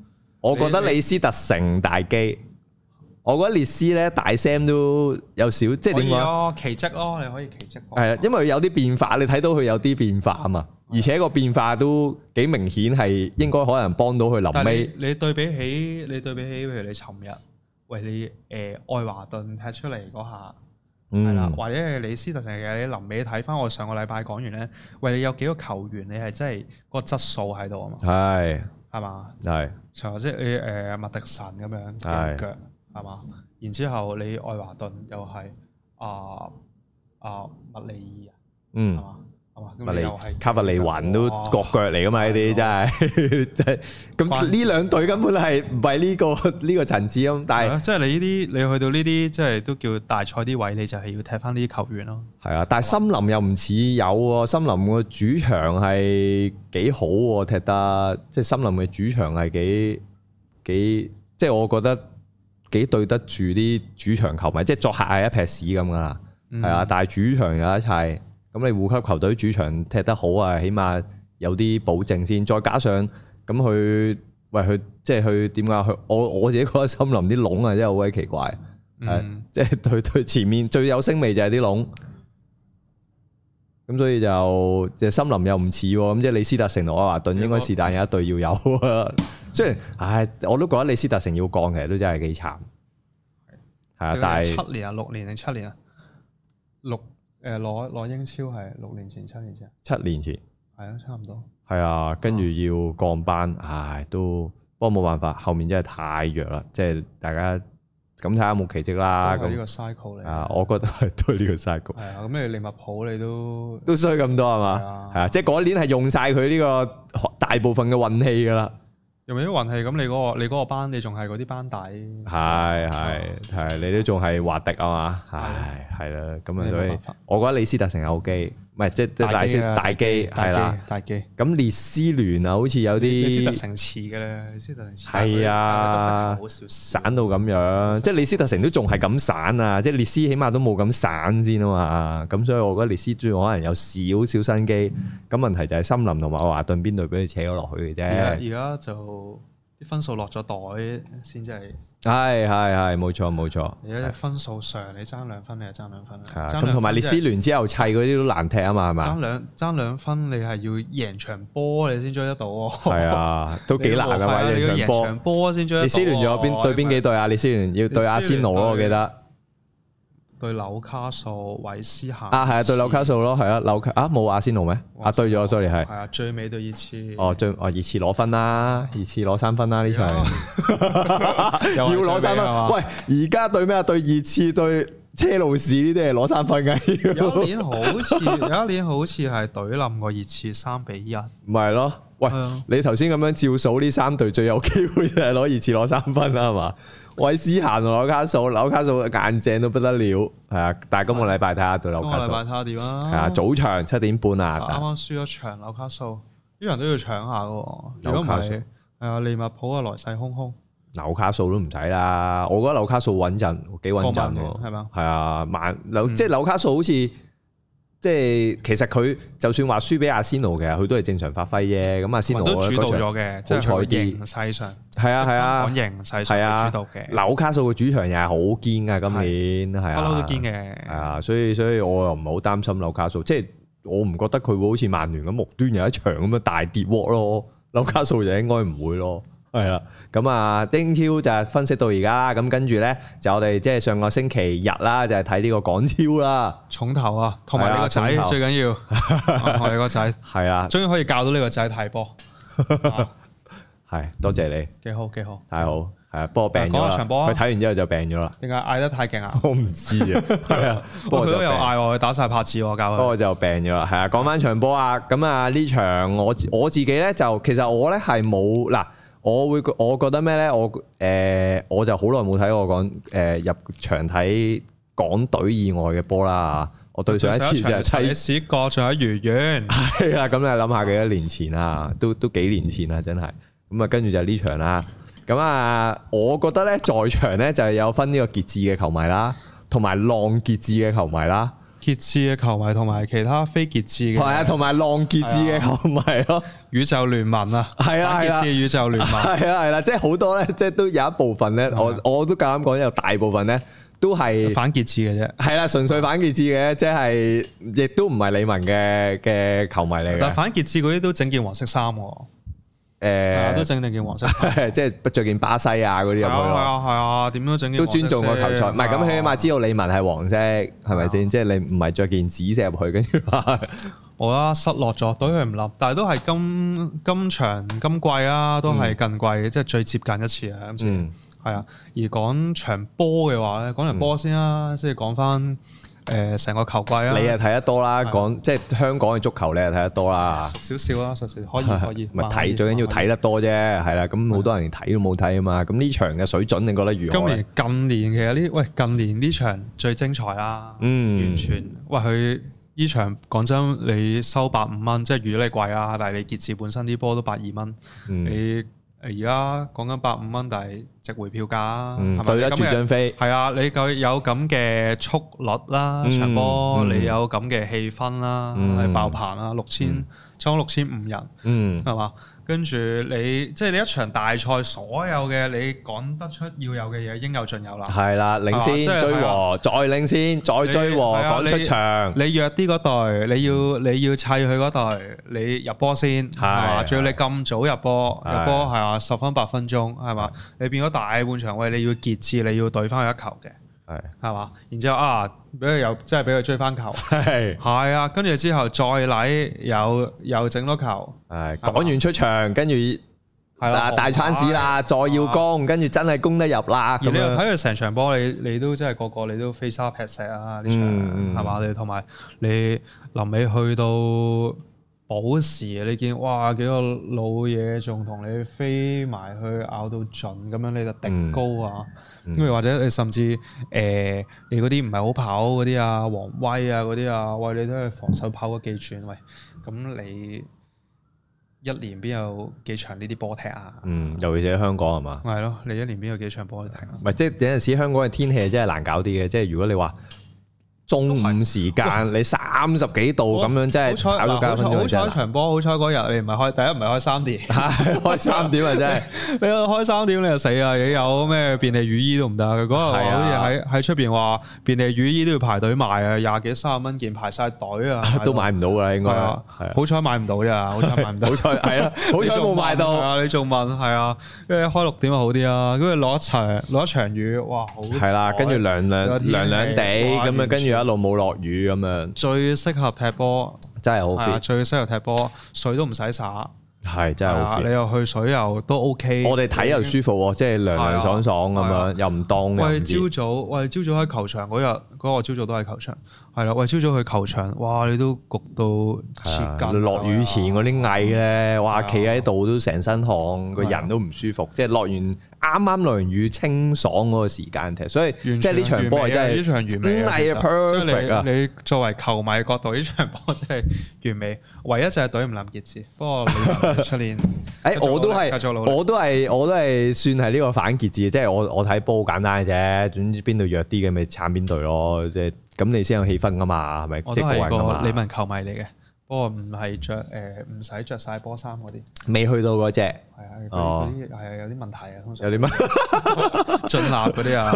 Speaker 1: 我覺得李斯特城大機。我覺得列斯咧大 Sam 都有少，即係點講？
Speaker 2: 奇蹟咯，你可以奇蹟。
Speaker 1: 係啊，因為有啲變化，你睇到佢有啲變化啊嘛，而且個變化都幾明顯，係應該可能幫到佢臨尾。
Speaker 2: 你對比起你對比起，譬如你尋日喂你誒、呃、愛華頓踢出嚟嗰下，係啦、嗯，或者係李斯特城嘅，你臨尾睇翻我上個禮拜講完咧，喂你有幾個球員你係真係個質素喺度啊嘛？係係嘛？係，除即係你誒麥迪臣咁樣嘅腳。係嘛？然之後你愛華頓又係啊啊麥利爾啊，嗯，係嘛？係嘛？咁你又係
Speaker 1: 卡弗利雲都國腳嚟噶嘛？呢啲真係真係咁呢兩隊根本係唔係呢個呢個層次咁，但係
Speaker 2: 即係你呢啲你去到呢啲即係都叫大賽啲位，你就係要踢翻呢啲球員咯。
Speaker 1: 係啊，但係森林又唔似有喎，森林個主場係幾好喎，踢得即係森林嘅主場係幾幾，即係我覺得。幾對得住啲主場球迷，即係作客係一撇屎咁噶啦，係啊、嗯！但係主場有一切，咁你護級球隊主場踢得好啊，起碼有啲保證先。再加上咁佢喂佢即係佢點解佢我我自己覺得森林啲籠啊真係好鬼奇怪，係、嗯、即係對對前面最有聲味就係啲籠，咁所以就即係森林又唔似喎，咁即係李斯特城同愛華頓應該是但有一隊要有。雖然，唉，我都覺得李斯特城要降，其實都真係幾慘。係啊，但係
Speaker 2: 七年啊，六年定七年啊？六誒攞攞英超係六年前、七年前。
Speaker 1: 七年前。
Speaker 2: 係啊，差唔多。
Speaker 1: 係啊，跟住要降班，唉，都不過冇辦法，後面真係太弱啦。即係大家咁睇下有冇奇蹟啦。
Speaker 2: 都係呢個 cycle 嚟。
Speaker 1: 啊，我覺得係都係呢個 cycle。
Speaker 2: 係啊，咁你利物浦你都
Speaker 1: 都衰咁多係嘛？係啊，即係嗰年係用晒佢呢個大部分嘅運氣㗎啦。
Speaker 2: 用啲運氣，咁你嗰、嗰個你嗰個班，你仲係嗰啲班底，
Speaker 1: 係係係，你都仲係華迪啊嘛，係係啦，咁啊所以，我覺得李斯特城有機，唔係即係大斯大機係啦，大機。咁列斯聯啊，好似有啲
Speaker 2: 李斯特城似嘅咧，李斯特城似
Speaker 1: 係啊，散到咁樣，即係李斯特城都仲係咁散啊，即係列斯起碼都冇咁散先啊嘛，咁所以我覺得列斯仲可能有少少新機，咁問題就係森林同埋愛華頓邊隊俾你扯咗落去嘅啫。
Speaker 2: 而家就。啲分數落咗袋先，真係
Speaker 1: 係係係冇錯冇錯。
Speaker 2: 而家分數上，你爭兩分，你係爭兩分。
Speaker 1: 係啊，咁同埋列斯聯之後砌嗰啲都難踢啊嘛，係咪？
Speaker 2: 爭兩爭兩分，你係要贏場波你先追得到喎。係
Speaker 1: 啊，都幾難㗎嘛，贏
Speaker 2: 場波先追得到。
Speaker 1: 列斯聯仲有邊對邊幾隊啊？列斯聯要對阿仙奴咯，我記得。
Speaker 2: 對紐卡素、韋斯咸
Speaker 1: 啊，係啊，對紐卡素咯，係啊，紐卡啊冇阿仙奴咩？啊對咗 ，sorry 係。
Speaker 2: 係啊，最尾對熱刺。
Speaker 1: 哦，最哦熱刺攞分啦，熱刺攞三分啦呢場。要攞三分。喂，而家對咩啊？對熱刺對車路士呢啲係攞三分嘅。
Speaker 2: 有一年好似有一年好似係懟冧個熱刺三比一。
Speaker 1: 唔係咯，喂，你頭先咁樣照數呢三隊最有機會就係攞熱刺攞三分啦，係嘛？韋斯咸同紐卡素，紐卡素硬正到不得了，係啊！但係今個禮拜睇下對紐卡素，
Speaker 2: 今個禮拜睇下點啊？
Speaker 1: 係啊，早場七點半啊！
Speaker 2: 啱啱輸咗場紐卡素，啲人都要搶下嘅。如果唔係，係啊，利物浦啊來勢洶洶。紐
Speaker 1: 卡素都唔使啦，我覺得紐卡素穩陣，幾穩陣喎。係嘛？係啊，慢紐即係紐卡素好似。即係其實佢就算話輸俾阿仙奴嘅，佢都係正常發揮啫。咁阿仙奴
Speaker 2: 都主導咗嘅，好彩啲形勢上
Speaker 1: 係啊係啊，
Speaker 2: 講形勢上主導嘅。
Speaker 1: 紐卡素嘅主場又係好堅噶，今年係啊，
Speaker 2: 不嬲都堅嘅。
Speaker 1: 係啊，所以所以我又唔係好擔心紐卡素，即係我唔覺得佢會好似曼聯咁無端有一場咁樣大跌鑊咯。紐卡素就應該唔會咯。係啦，咁啊，英超就係分析到而家，咁跟住咧就我哋即係上個星期日啦，就係睇呢個港超啦，
Speaker 2: 重頭啊，同埋你個仔最緊要，我哋個仔係啊，終於可以教到呢個仔睇波，
Speaker 1: 係多謝你，
Speaker 2: 幾好幾好，
Speaker 1: 太好，係啊，不過病咗啦，佢睇完之後就病咗啦，
Speaker 2: 點解嗌得太勁啊？
Speaker 1: 我唔知啊，係啊，
Speaker 2: 不過佢都有嗌我，佢打晒拍子我教佢，
Speaker 1: 不過就病咗啦，係啊，講翻場波啊，咁啊呢場我我自己咧就其實我咧係冇嗱。我會我覺得咩咧？我誒、呃、我就好耐冇睇過講誒入場睇港隊以外嘅波啦。我對上一次就係睇
Speaker 2: 史國仲喺愉園。
Speaker 1: 係啦，咁你諗下幾多年前啊？都都幾年前啦，真係。咁啊，跟住就係呢場啦。咁啊，我覺得咧，在場咧就係有分呢個傑志嘅球迷啦，同埋浪傑志嘅球迷啦。
Speaker 2: 傑志嘅球迷同埋其他非傑志嘅，係
Speaker 1: 啊，同埋浪傑志嘅球迷咯。
Speaker 2: 宇宙聯盟啊，係啊，傑志宇宙聯盟，
Speaker 1: 係啊係啦，即係好多咧，即係都有一部分咧，我我都夠膽講，有大部分咧都係
Speaker 2: 反傑志嘅啫。係
Speaker 1: 啦，純粹反傑志嘅，即係亦都唔係李文嘅嘅球迷嚟嘅。
Speaker 2: 但係反傑志嗰啲都整件黃色衫喎。誒，都整定件黃色，
Speaker 1: 即係着件巴西啊嗰啲入去咯。係
Speaker 2: 啊係啊，點都整件。
Speaker 1: 都尊重個球賽，唔係咁起碼知道李文係黃色，係咪先？即係你唔係着件紫色入去，跟住話
Speaker 2: 我啦失落咗，對佢唔諗，但係都係今今場今季啊，都係近季即係最接近一次啊。今次係啊，而講場波嘅話咧，講場波先啦，即係講翻。誒成個球季啊！
Speaker 1: 你又睇得多啦，講即係香港嘅足球，你又睇得多啦。
Speaker 2: 熟少少啦，熟少可以可以。
Speaker 1: 咪睇最緊要睇得多啫，係啦。咁好多人連睇都冇睇啊嘛。咁呢場嘅水準，你覺得如何？
Speaker 2: 今年近年其實呢，喂近年呢場最精彩啦。嗯，完全喂佢呢場講真，你收百五蚊，即係預咗你貴啊，但係你傑志本身啲波都百二蚊，你。而家講緊百五蚊，但係值回票價，係咪對得住張飛？係啊，你夠有咁嘅速率啦，場波你有咁嘅氣氛啦，係爆棚啦，六千差唔多六千五人，係嘛？跟住你即係你一場大賽，所有嘅你講得出要有嘅嘢應有盡有啦。係啦，領先追和，再領先再追和，趕出場。你弱啲嗰隊，你要你要砌佢嗰隊，你入波先係嘛？仲要你咁早入波，入波係啊，十分八分鐘係嘛？你變咗大半場，喂，你要傑志，你要對翻佢一球嘅。係，係嘛？然之後啊，俾佢又即係俾佢追翻球，係係啊，跟住之後再嚟又又整多球，係講完出場，跟住係啦大餐市啦，再要攻，跟住真係攻得入啦。而你又睇佢成場波，你你都真係個個你都飛沙劈石啊！呢場係嘛？你同埋你臨尾去到補時，你見哇幾個老嘢仲同你飛埋去咬到盡咁樣，你就迪高啊！跟住或者你甚至誒、呃、你嗰啲唔係好跑嗰啲啊，王威啊嗰啲啊，喂你都係防守跑嗰幾轉，喂咁你一年邊有幾場呢啲波踢啊？嗯，尤其是喺香港係嘛？係咯，你一年邊有幾場波踢啊？唔係即係有陣時香港嘅天氣真係難搞啲嘅，即係如果你話。中午時間你三十幾度咁樣，真係跑到九分鐘。好彩場波，好彩嗰日你唔係開，第一唔係開三點，開三點啊真係。你開三點你就死啊！你有咩便利雨衣都唔得。佢嗰日好似喺喺出邊話便利雨衣都要排隊買啊，廿幾三十蚊件排晒隊啊，都買唔到㗎啦應該。好彩買唔到咋，好彩買唔到。好彩係啊，好彩冇買到。啊，你仲問係啊？跟住開六點就好啲啊，跟住攞一場攞一場雨，哇好。係啦，跟住涼涼涼涼地咁樣，跟住。一路冇落雨咁樣，最適合踢波，真係好 fit。最適合踢波，水都唔使灑，係真係好 fit。你又去水又都 OK。我哋睇又舒服喎，即係涼涼爽爽咁樣，又唔凍。喂，朝早，喂，朝早喺球場嗰日，嗰個朝早都喺球場。係啦，喂，朝早去球場，哇！你都焗到切筋。落雨前嗰啲蟻咧，哇！企喺度都成身汗，個人都唔舒服。即係落完啱啱落完雨，清爽嗰個時間踢，所以即係呢場波係真係呢場完美啊！真係 perfect 啊！你作為球迷角度，呢場波真係完美。唯一就係隊唔冧傑志，不過出年誒我都係我都係我都係算係呢個反傑志，即係我我睇波好簡單嘅啫，總之邊度弱啲嘅咪撐邊隊咯，即係。咁你先有氣氛噶嘛，係咪？我都係個李文球迷嚟嘅，不過唔係着誒，唔使着晒波衫嗰啲。未去到嗰隻，係啊，嗰啲係啊，有啲問題啊，通常有啲乜進納嗰啲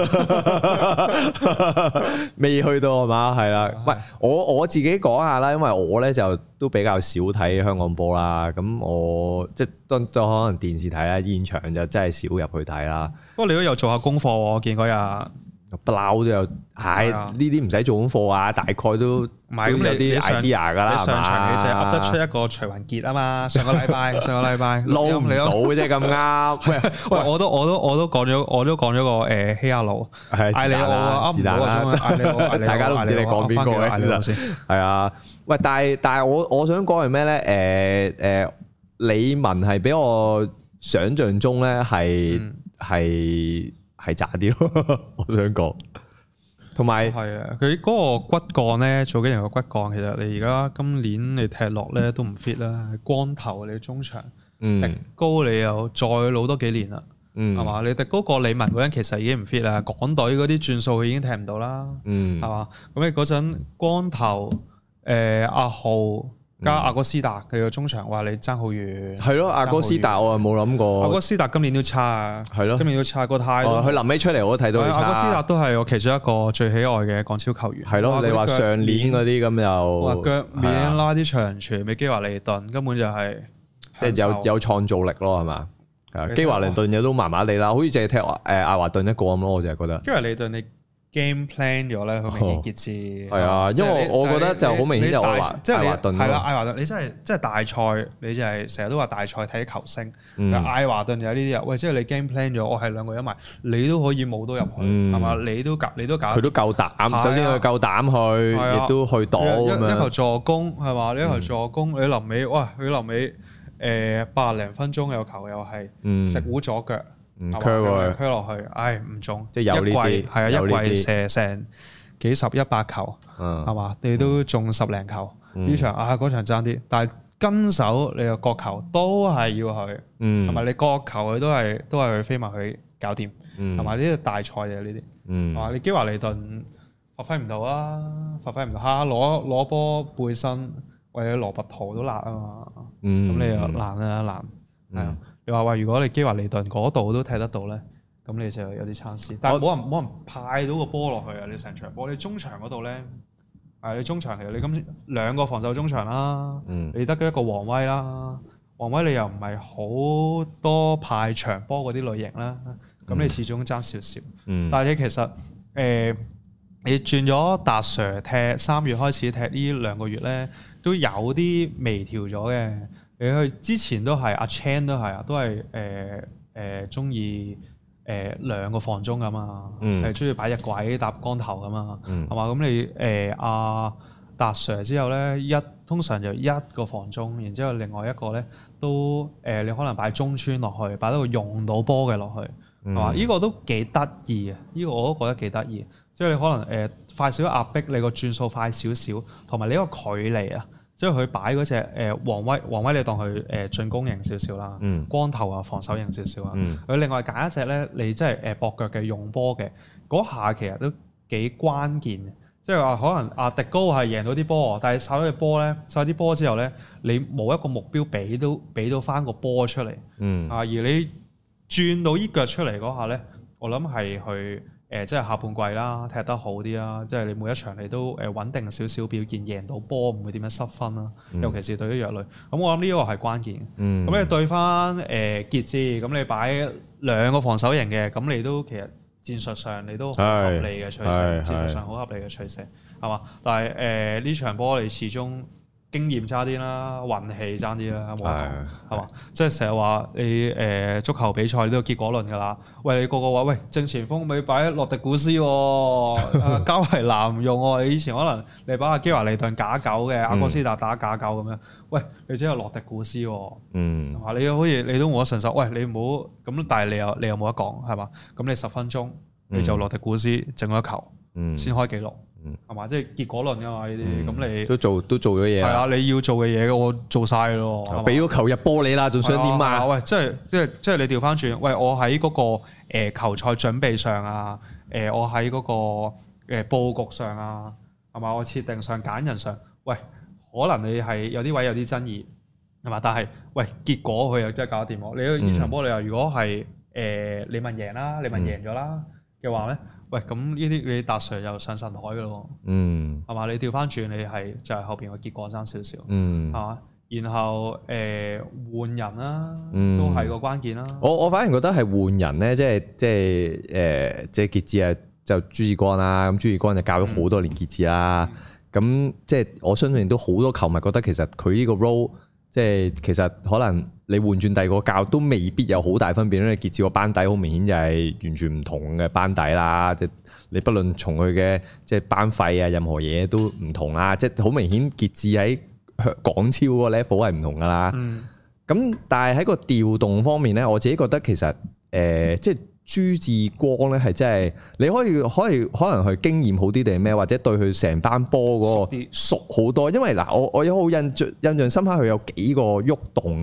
Speaker 2: 啊，未去到係嘛？係啦，喂，我我自己講下啦，因為我咧就都比較少睇香港波啦，咁我即係都都可能電視睇啦，現場就真係少入去睇啦。不過你都有做下功課喎，我見嗰日。不嬲都有，係呢啲唔使做功課啊，大概都都有啲 idea 噶啦，係嘛？你上場你就噏得出一個徐雲傑啊嘛，上個禮拜上個禮拜撈唔到嘅啫咁啱。喂喂，我都我都我都講咗，我都講咗個誒希亞路，艾利奧啊，噏唔到啊，艾利奧，大家都唔知你講邊個嘅，其實係啊。喂，但係但係我我想講係咩咧？誒誒，李文係比我想象中咧係係。係渣啲咯，我想講，同埋係啊，佢嗰個骨幹咧，做緊人個骨幹，其實你而家今年你踢落咧都唔 fit 啦，光頭你中場，嗯，高你又再老多幾年啦， 係嘛？你迪高過李文嗰陣其實已經唔 fit 啦，港隊嗰啲轉數佢已經踢唔到啦，係嘛？咁你嗰陣光頭誒阿浩加阿哥斯達佢個中場話你爭好遠，係
Speaker 1: 咯，阿哥斯達我冇諗過，
Speaker 2: 阿哥斯達今年都差啊，係咯，今年都差個態度。
Speaker 1: 佢臨尾出嚟我都睇到佢差。阿哥斯達
Speaker 2: 都係我其中一個最喜愛嘅港超球員。
Speaker 1: 係咯，你話上年嗰啲咁又
Speaker 2: 話腳面拉啲長傳俾基華利頓，根本就係
Speaker 1: 即係有有創造力咯，係嘛？基華利頓嘢都麻麻地啦，好似淨係踢誒艾華頓一個咁咯，我就係覺得。基華利頓你 game plan 咗咧，好明顯傑志。係啊，因為我覺得就好明顯就艾華，即係艾華頓
Speaker 2: 係啦，艾華頓你真係即係大賽，你就係成日都話大賽睇球星。艾華頓有呢啲啊，喂，即係你 game plan 咗，我係兩個一埋，你都可以冇到入去，係嘛？你都搞，你都搞。佢都
Speaker 1: 夠膽，首先佢夠膽去，亦都去到咁樣。
Speaker 2: 一球助攻係嘛？你一球助攻，你臨尾哇，佢臨尾。誒八零分鐘有球又係食糊左腳，推落去，唉唔中，
Speaker 1: 即係有呢啲，
Speaker 2: 係啊一季射成幾十一百球，係嘛？你都中十零球，呢場啊嗰場爭啲，但係跟手你個角球都係要去，係咪？你角球佢都係都係去飛埋去搞掂，係咪？呢啲大賽嘅呢啲，係嘛？你基華利頓發揮唔到啊，發揮唔到嚇，攞攞波背身。或者羅拔圖都辣啊嘛，咁、嗯、你又難啊難，係啊、嗯！你話話如果你基華利頓嗰度都踢得到咧，咁你就有啲參差。但係冇人冇人派到個波落去啊！你成場波，你中場嗰度咧，係你中場其實你今兩個防守中場啦，嗯、你得一個王威啦，王威你又唔係好多派長波嗰啲類型啦，咁、嗯、你始終爭少少。嗯、但係你其實誒、呃，你轉咗達 Sir 踢三月開始踢呢兩個月咧。都有啲微調咗嘅，你去之前都係阿 Chan 都係啊，都係誒誒中意誒兩個防中㗎嘛，係中意擺隻鬼搭光頭㗎嘛，係嘛、嗯？咁你誒阿達 Sir 之後咧，一通常就一個防中，然之後另外一個咧都誒、呃、你可能擺中村落去，擺到個用到波嘅落去，係嘛？呢、嗯、個都幾得意啊！呢、這個我都覺得幾得意。即係你可能誒、呃、快少少壓迫，你個轉數快少少，同埋你個距離啊，即係佢擺嗰隻誒王威，王威你當佢誒進攻型少少啦，嗯、光頭啊防守型少少啊，佢、嗯、另外揀一隻咧，你即係誒駁腳嘅用波嘅嗰下，其實都幾關鍵。即係話可能阿迪高係贏到啲波，但係掃咗隻波咧，掃啲波之後咧，你冇一個目標俾到俾到翻個波出嚟，啊、嗯、而你轉到依腳出嚟嗰下咧，我諗係去。誒即係下半季啦，踢得好啲啦，即係你每一場你都誒穩定少少表現，贏到波唔會點樣失分啦。嗯、尤其是對於弱旅，咁我諗呢個係關鍵。咁、嗯、你對翻誒傑志，咁你擺兩個防守型嘅，咁你都其實戰術上你都好合理嘅取捨，戰術上好合理嘅取捨，係嘛？但係誒呢場波你始終經驗差啲啦，運氣差啲啦，冇講係嘛？即係成日話你誒足球比賽都有結果論㗎啦。喂，你個個話喂正前鋒咪擺洛迪古斯喎，加維南唔用喎。你以前可能你擺阿基華利頓假九嘅，阿哥斯達打假九咁樣。喂，你只有洛迪古斯喎，嗯，係嘛？你好似你都冇得順手。喂，你唔好咁，但係你又你又冇得講係嘛？咁你十分鐘你就洛迪古斯整咗一球，先開紀錄。係嘛？即係結果論㗎嘛呢啲，咁、嗯、你都做都做咗嘢。係啊，你要做嘅嘢我做晒咯。俾咗球入波你啦，仲想點啊？喂，即係即係即係你調翻轉，喂，我喺嗰個誒球賽準備上啊，誒我喺嗰個誒佈局上啊，係嘛？我設定上揀人上，喂，可能你係有啲位有啲爭議，係嘛？但係喂，結果佢又真係搞得掂喎。你呢場波你話如果係誒你問贏啦，你問贏咗啦嘅話咧？喂，咁呢啲你達 Sir 又上神台嘅咯，嗯，係嘛？你調翻轉你係就係後邊個結果爭少少，嗯，係嘛？然後誒、呃、換人啦、啊，嗯、都係個關鍵啦、啊。我我反而覺得係換人咧，即係即係誒，即係傑志啊，就朱志光啦，咁朱志光就教咗好多年傑志啦，咁、嗯、即係我相信都好多球迷覺得其實佢呢個 role。即係其實可能你換轉第二個教都未必有好大分別，因為傑志個班底好明顯就係完全唔同嘅班底啦。即係你不論從佢嘅即係班費啊，任何嘢都唔同啦。即係好明顯傑志喺港超嗰個 level 係唔同噶啦。咁、嗯、但係喺個調動方面咧，我自己覺得其實誒、呃、即係。朱志光咧係真係你可以可以可能佢經驗好啲定係咩，或者對佢成班波嗰個熟好多。因為嗱，我我有好印象印象深刻，佢有幾個喐動嘅。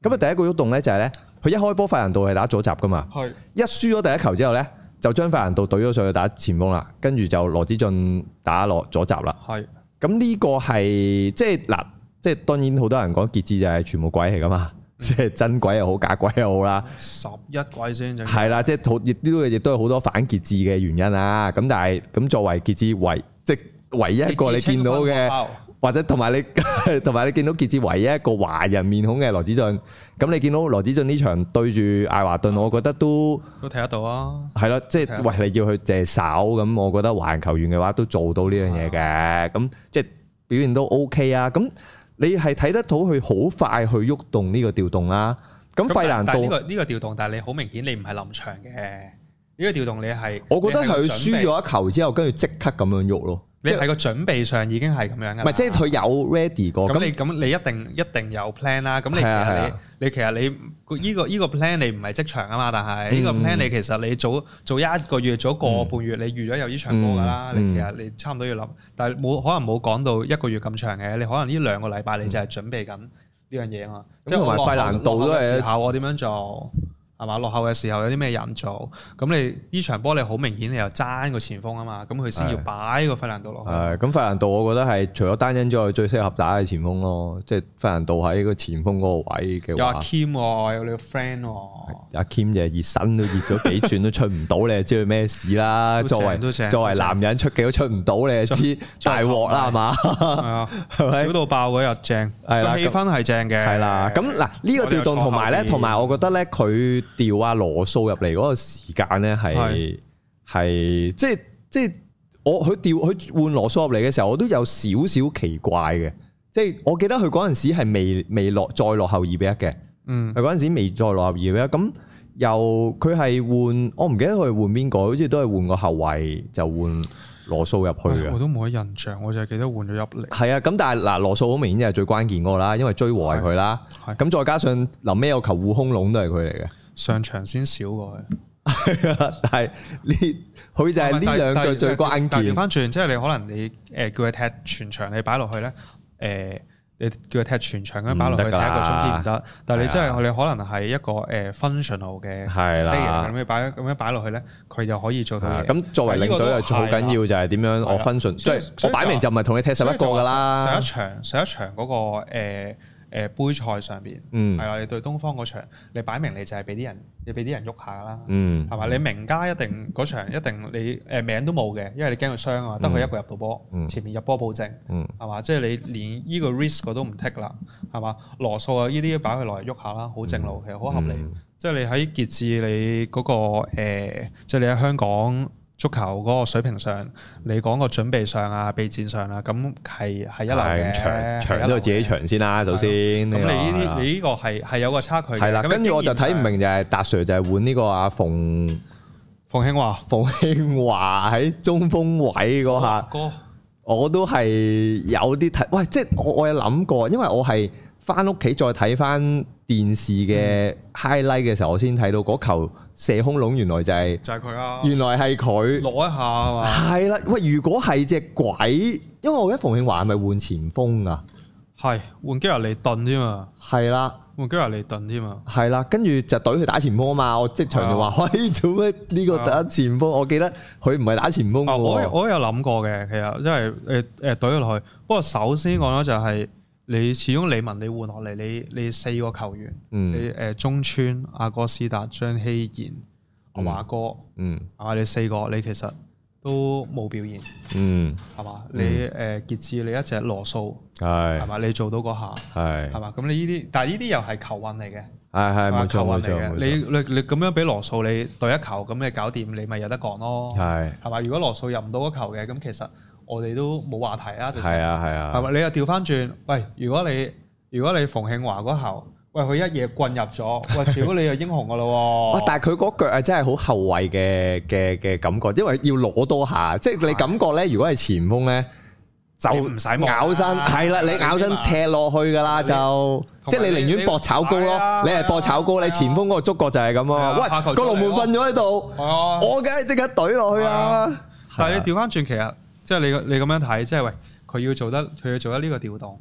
Speaker 1: 咁啊第一個喐動咧就係咧，佢一開波費蘭道係打左閘噶嘛，
Speaker 2: 係
Speaker 1: 一輸咗第一球之後咧，就將費蘭道懟咗上去打前鋒啦，跟住就羅子俊打落左閘啦。係咁呢個係即係嗱，即係當然好多人講傑志就係全部鬼嚟噶嘛。即係真鬼又好，假鬼又好啦。
Speaker 2: 十一鬼先正
Speaker 1: 係啦，即係亦都亦都有好多反傑志嘅原因啦。咁但係咁作為傑志唯即係唯一一個你見到嘅，或者同埋你同埋你見到傑志唯一一個華人面孔嘅羅子俊。咁你見到羅子俊呢場對住艾華頓，我覺得都
Speaker 2: 都睇得到啊。係
Speaker 1: 咯，即係喂你要去借手咁，我覺得華人球員嘅話都做到呢樣嘢嘅。咁即係表現都 OK 啊。咁你係睇得到佢好快去喐動呢個調動啦。咁費蘭道呢
Speaker 2: 個呢個調動，但係你好明顯你唔係臨場嘅呢個調動，你係
Speaker 1: 我覺得係佢輸咗一球之後，跟住即刻咁樣喐咯。
Speaker 2: 你喺個準備上已經係咁樣嘅。唔係，
Speaker 1: 即係佢有 ready 過。
Speaker 2: 咁你咁你一定一定有 plan 啦。咁你其實你你其實你依個依個 plan 你唔係即場啊嘛，但係呢個 plan 你其實你早早一個月早個半月你預咗有呢場波㗎啦。你其實你差唔多要諗，但係冇可能冇講到一個月咁長嘅。你可能呢兩個禮拜你就係準備緊呢樣嘢啊嘛。即係同埋費蘭道都係時候我點樣做？係嘛？落後嘅時候有啲咩人做？咁你呢場波你好明顯你又爭個前鋒啊嘛，咁佢先要擺個費蘭道落去。係咁，費蘭道我覺得係除咗單恩之外最適合打嘅前鋒咯，即係費蘭道喺個前鋒嗰個位嘅話。有阿 Kim 喎，有你個 friend 喎。阿 Kim 就係熱身都熱咗幾轉都出唔到，你就知佢咩事啦。作為作為男人出幾都出唔到，你就知大鑊啦，係嘛？係啊，少到爆嗰日正，個氣氛係正嘅。係啦，咁嗱呢個調動同埋咧，同埋我覺得咧佢。調阿羅素入嚟嗰個時間咧，係係即係即係我佢調佢換羅素入嚟嘅時候，我都有少少奇怪嘅。即係我記得佢嗰陣時係未未落再落後二比一嘅，嗯，佢嗰陣時未再落後二比一。咁又佢係換，我唔記得佢係換邊個，好似都係換個後衛就換羅素入去嘅。我都冇乜印象，我就係記得換咗入嚟。係啊，咁但係嗱，羅素好明顯就係最關鍵嗰個啦，因為追和係佢啦。咁再加上臨尾有球護空籠都係佢嚟嘅。上場先少過去，但係呢佢就係呢兩個最關鍵。但係調翻轉，即係你可能你誒叫佢踢全場，你擺落去咧，誒你叫佢踢全場咁樣擺落去，踢一個中堅唔得。但係你真係你可能係一個誒 functional 嘅 player 咁樣擺咁樣擺落去咧，佢就可以做到嘢。咁作為領隊又好緊要就係點樣我 function，即係我擺明就唔係同你踢十一個㗎啦。上一場上一場嗰個誒。誒杯賽上邊，係啦、嗯，你對東方嗰場，你擺明你就係俾啲人，你俾啲人喐下啦，係嘛、嗯？你名家一定嗰場一定你誒名都冇嘅，因為你驚佢傷啊嘛，得佢、嗯、一個入到波，嗯、前面入波保證，係嘛、嗯？即係你連呢個 risk 我都唔 take 啦，係嘛？羅素啊，呢啲擺佢落嚟喐下啦，好正路，其實好合理。嗯、即係你喺傑志你嗰、嗰個、呃、即係你喺香港。足球嗰個水平上，你講個準備上啊、備戰上啊，咁係係一流嘅。場場都係自己場先啦，首先。咁你呢啲你呢個係係有個差距嘅。係啦，跟住我就睇唔明就係達 Sir 就係換呢個阿馮馮慶華，馮慶華喺中鋒位嗰下，我都係有啲睇。喂，即係我我有諗過，因為我係翻屋企再睇翻電視嘅 highlight 嘅時候，我先睇到嗰球。射空籠原來就係就係佢啊！原來係佢攞一下係嘛？係啦，喂！如果係隻鬼，因為我覺得馮慶華係咪換前鋒啊？係換基亞利頓添嘛？係啦，換基亞利頓添嘛？係啦，跟住就懟佢打前鋒啊嘛！我即場就話：喂，做咩呢個打前鋒？我記得佢唔係打前鋒嘅喎。我我有諗過嘅，其實因為誒誒懟咗落去。不過首先講咗就係。你始終李文你換落嚟，你你四個球員，嗯、你誒中村、阿哥斯達、張希賢、阿華哥，嗯，係嘛？你四個你其實都冇表現，嗯，係嘛？你誒傑志你一隻羅素，係係嘛？你做到嗰下，係係嘛？咁你呢啲，但係呢啲又係球運嚟嘅，係係冇錯冇錯。你你你咁樣俾羅素你對一球，咁你搞掂，你咪有得講咯，係係嘛？如果羅素入唔到嗰球嘅，咁其實。我哋都冇話題啦，係啊係啊，係咪？你又調翻轉，喂！如果你如果你馮慶華嗰球，喂佢一嘢棍入咗，喂！如果你又英雄噶咯喎，但係佢嗰腳係真係好後衞嘅嘅嘅感覺，因為要攞多下，即係你感覺咧，如果係前鋒咧，就唔使咬身，係啦，你咬身踢落去噶啦，就即係你寧願搏炒高咯，你係搏炒高，你前鋒嗰個觸覺就係咁啊！喂，個龍門瞓咗喺度，我梗係即刻懟落去啊！但係你調翻轉，其實。即係你你咁樣睇，即係喂，佢要做得佢要做得呢個調動，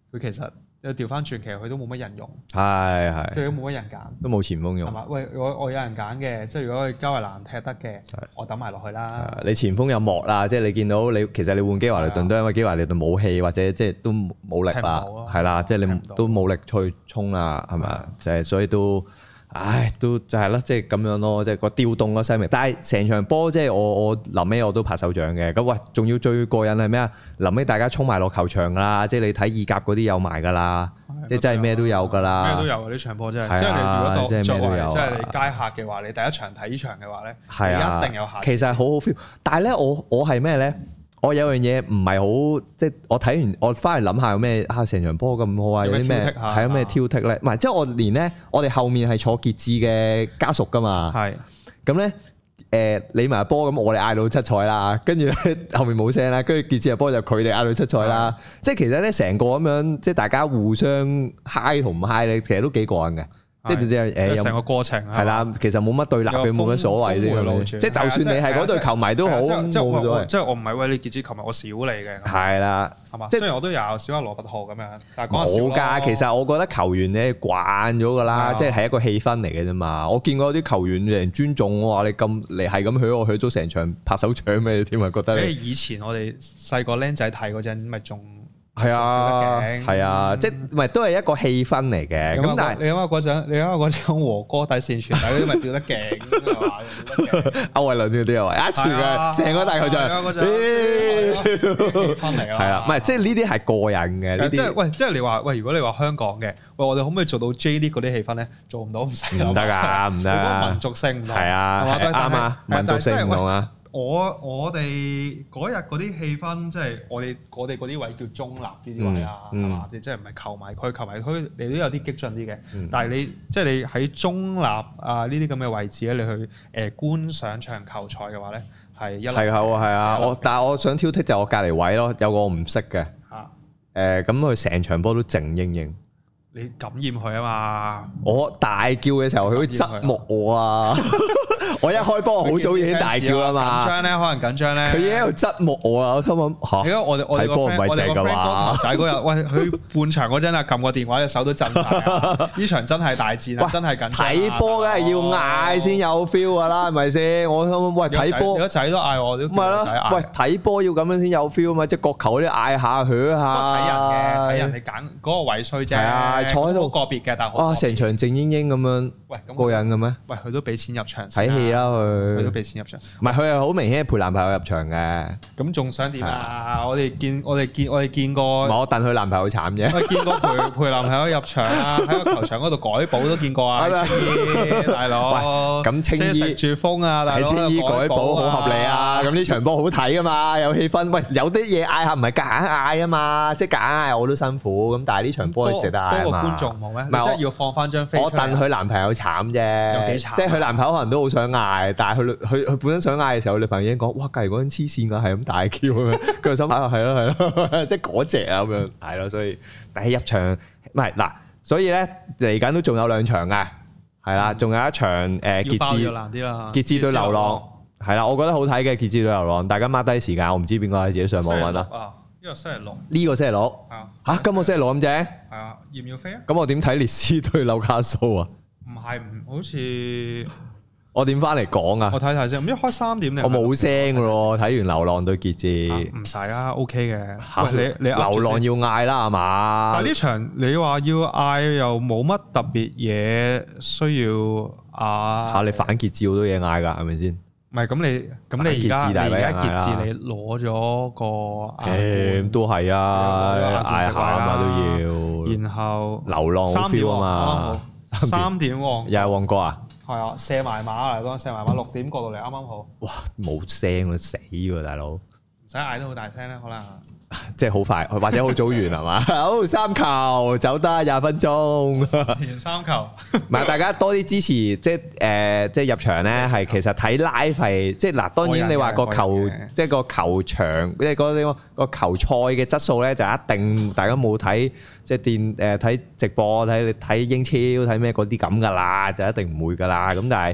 Speaker 2: 佢其實調翻轉，其實佢都冇乜人用，
Speaker 1: 係係，
Speaker 2: 即係都冇乜人揀，
Speaker 1: 都冇前鋒用。係
Speaker 2: 嘛？喂，我我有人揀嘅，即係如果佢交維蘭踢得嘅，我抌埋落去啦。
Speaker 1: 你前鋒有莫啦，即係你見到你其實你換基華利頓都因為基華利頓冇氣或者即係都冇力啦，係啦，即係你都冇力去衝啦，係咪？就係所以都。唉，都就係咯，即係咁樣咯，即係個調動咯，西明。但係成場波即係我我臨尾我都拍手掌嘅。咁喂，仲要最過癮係咩啊？臨尾大家衝埋落球場㗎啦，即係你睇意甲嗰啲有埋㗎啦，即係真係咩都有㗎啦。咩
Speaker 2: 都有啊！呢場波真係，即係你如果當作為即係你街客嘅話，你第一場睇呢場嘅話咧，係啊，一定有下。其實
Speaker 1: 好好 feel，但係咧我我係咩咧？我有樣嘢唔係好，即係我睇完，我翻嚟諗下有咩啊？成場波咁好啊，有啲咩係有咩挑剔咧？唔係，即係我連咧，我哋後面係坐傑志嘅家屬噶嘛。係咁咧，誒你埋波咁，我哋嗌到七彩啦，跟住咧後面冇聲啦，跟住傑志嘅波就佢哋嗌到七彩啦。即係其實咧，成個咁樣，即係大家互相嗨同唔嗨咧，其實都幾過癮嘅。即係誒，
Speaker 2: 成個過程係
Speaker 1: 啦，其實冇乜對立嘅，冇乜所謂啫。即係就算你係嗰隊球迷都好，冇所謂。
Speaker 2: 即係我唔係為你傑志球迷，我少你嘅。
Speaker 1: 係啦，
Speaker 2: 係嘛？即係雖然我都有少阿羅拔浩咁樣，但係
Speaker 1: 冇㗎。其實我覺得球員咧慣咗㗎啦，即係係一個氣氛嚟嘅啫嘛。我見過啲球員人尊重我話你咁你係咁許我許咗成場拍手掌咩添啊？覺得你
Speaker 2: 以前我哋細個僆仔睇嗰陣咪仲。
Speaker 1: 係啊，係啊，即係唔係都係一個氣氛嚟嘅。咁但係
Speaker 2: 你諗下嗰陣，你諗下嗰陣和歌底線傳遞嗰啲咪吊得勁係嘛？
Speaker 1: 歐偉倫嗰啲啊，一傳嘅成個大球場，氣氛嚟啊！係啊，唔係即係呢啲係過癮嘅。呢啲即係
Speaker 2: 喂，即係你話喂，如果你話香港嘅，喂我哋可唔可以做到 J 聯嗰啲氣氛咧？做唔到唔使
Speaker 1: 唔得㗎，唔得。
Speaker 2: 嗰個民族性唔同
Speaker 1: 係啊，啱啊，民族性唔同啊。
Speaker 2: 我我哋嗰日嗰啲氣氛，即係我哋我哋嗰啲位叫中立呢啲位啊，係嘛？即係唔係球迷區？球迷區你都有啲激進啲嘅，但係你即係你喺中立啊呢啲咁嘅位置咧，你去誒觀賞場球賽嘅話咧，係一
Speaker 1: 係啊，係啊，我但係我想挑剔就係我隔離位咯，有個我唔識嘅，誒咁佢成場波都靜英英。
Speaker 2: 你感染佢啊嘛！
Speaker 1: 我大叫嘅時候，佢會側目我啊！我一開波好早已經大叫啦嘛。
Speaker 2: 緊張咧，可能緊張咧。佢
Speaker 1: 已經喺度側目我啊！我心諗嚇，睇波唔係正㗎嘛？
Speaker 2: 仔嗰日，喂，佢半場嗰陣啊，撳個電話隻手都震晒。呢場真係大戰啊！真係緊張。
Speaker 1: 睇波梗係要嗌先有 feel 㗎啦，係咪先？我心諗喂，睇波，
Speaker 2: 個仔都嗌我，都唔
Speaker 1: 係咯。喂，睇波要咁樣先有 feel 嘛？即係角球嗰啲嗌下佢下。
Speaker 2: 睇人嘅，睇人哋揀嗰個位衰啫。坐喺度個別嘅，但係
Speaker 1: 哇，成場靜英英咁樣，喂，咁過癮嘅咩？
Speaker 2: 喂，佢都俾錢入場
Speaker 1: 睇戲啦，佢
Speaker 2: 佢都俾錢入場，
Speaker 1: 唔係佢係好明顯係陪男朋友入場嘅。
Speaker 2: 咁仲想點啊？我哋見我哋見我哋見過，
Speaker 1: 唔係我戥佢男朋友慘啫。
Speaker 2: 我見過陪陪男朋友入場啊，喺個球場嗰度改補都見過啊，青衣大佬。咁青衣食住風啊，大佬喺
Speaker 1: 青衣改補好合理啊。咁呢場波好睇噶嘛，有氣氛。喂，有啲嘢嗌下唔係夾硬嗌啊嘛，即係夾硬嗌我都辛苦。咁但係呢場波係值得嗌啊嘛。
Speaker 2: 觀眾冇咩？唔係，即係要放翻張飛。
Speaker 1: 我戥佢男朋友慘啫，有幾慘？即係佢男朋友可能都好想嗌，但係佢佢佢本身想嗌嘅時候，女朋友已經講：哇，隔離嗰陣黐線㗎，係咁大叫咁樣。佢就心諗係咯係咯，即係嗰隻啊咁樣，係咯。所以但係入場唔係嗱，所以咧嚟緊都仲有兩場嘅，係啦，仲有一場誒傑志傑志對流浪，係啦，我覺得好睇嘅傑志對流浪，大家 mark 低時間，我唔知邊個係自己上網揾啦。
Speaker 2: 呢個星期六，
Speaker 1: 呢個星期六嚇，今個星期六咁正？係
Speaker 2: 啊，要唔要飛啊？咁
Speaker 1: 我點睇列斯對紐卡素啊？
Speaker 2: 唔係唔好似
Speaker 1: 我點翻嚟講啊？
Speaker 2: 我睇睇先，唔知開三點定？
Speaker 1: 我冇聲㗎咯，睇完流浪對傑志，
Speaker 2: 唔使啊 ，OK 嘅。喂，你你
Speaker 1: 流浪要嗌啦係嘛？
Speaker 2: 但係呢場你話要嗌又冇乜特別嘢需要嗌
Speaker 1: 嚇，你反傑志好多嘢嗌㗎，係咪先？
Speaker 2: 唔係咁你咁你而家你而家傑志你攞咗個
Speaker 1: 誒都係啊，嗌下啊嘛都要。
Speaker 2: 然後
Speaker 1: 流浪 feel 啊嘛，
Speaker 2: 三點喎，
Speaker 1: 又係旺角啊？係
Speaker 2: 啊，射埋馬嚟講，射埋馬六點過到嚟啱啱好。
Speaker 1: 哇，冇聲啊，死喎大佬！唔
Speaker 2: 使嗌得好大聲咧，可能。
Speaker 1: 即係好快，或者好早完係嘛？好三球走得廿分鐘，
Speaker 2: 完三球。
Speaker 1: 唔係大家多啲支持，即係誒，即係入場咧，係其實睇 live 係即係嗱。當然你話個球，即係個球場，即係嗰啲個球賽嘅質素咧，就一定大家冇睇即係電誒睇直播睇你睇英超睇咩嗰啲咁㗎啦，就一定唔會㗎啦。咁但係即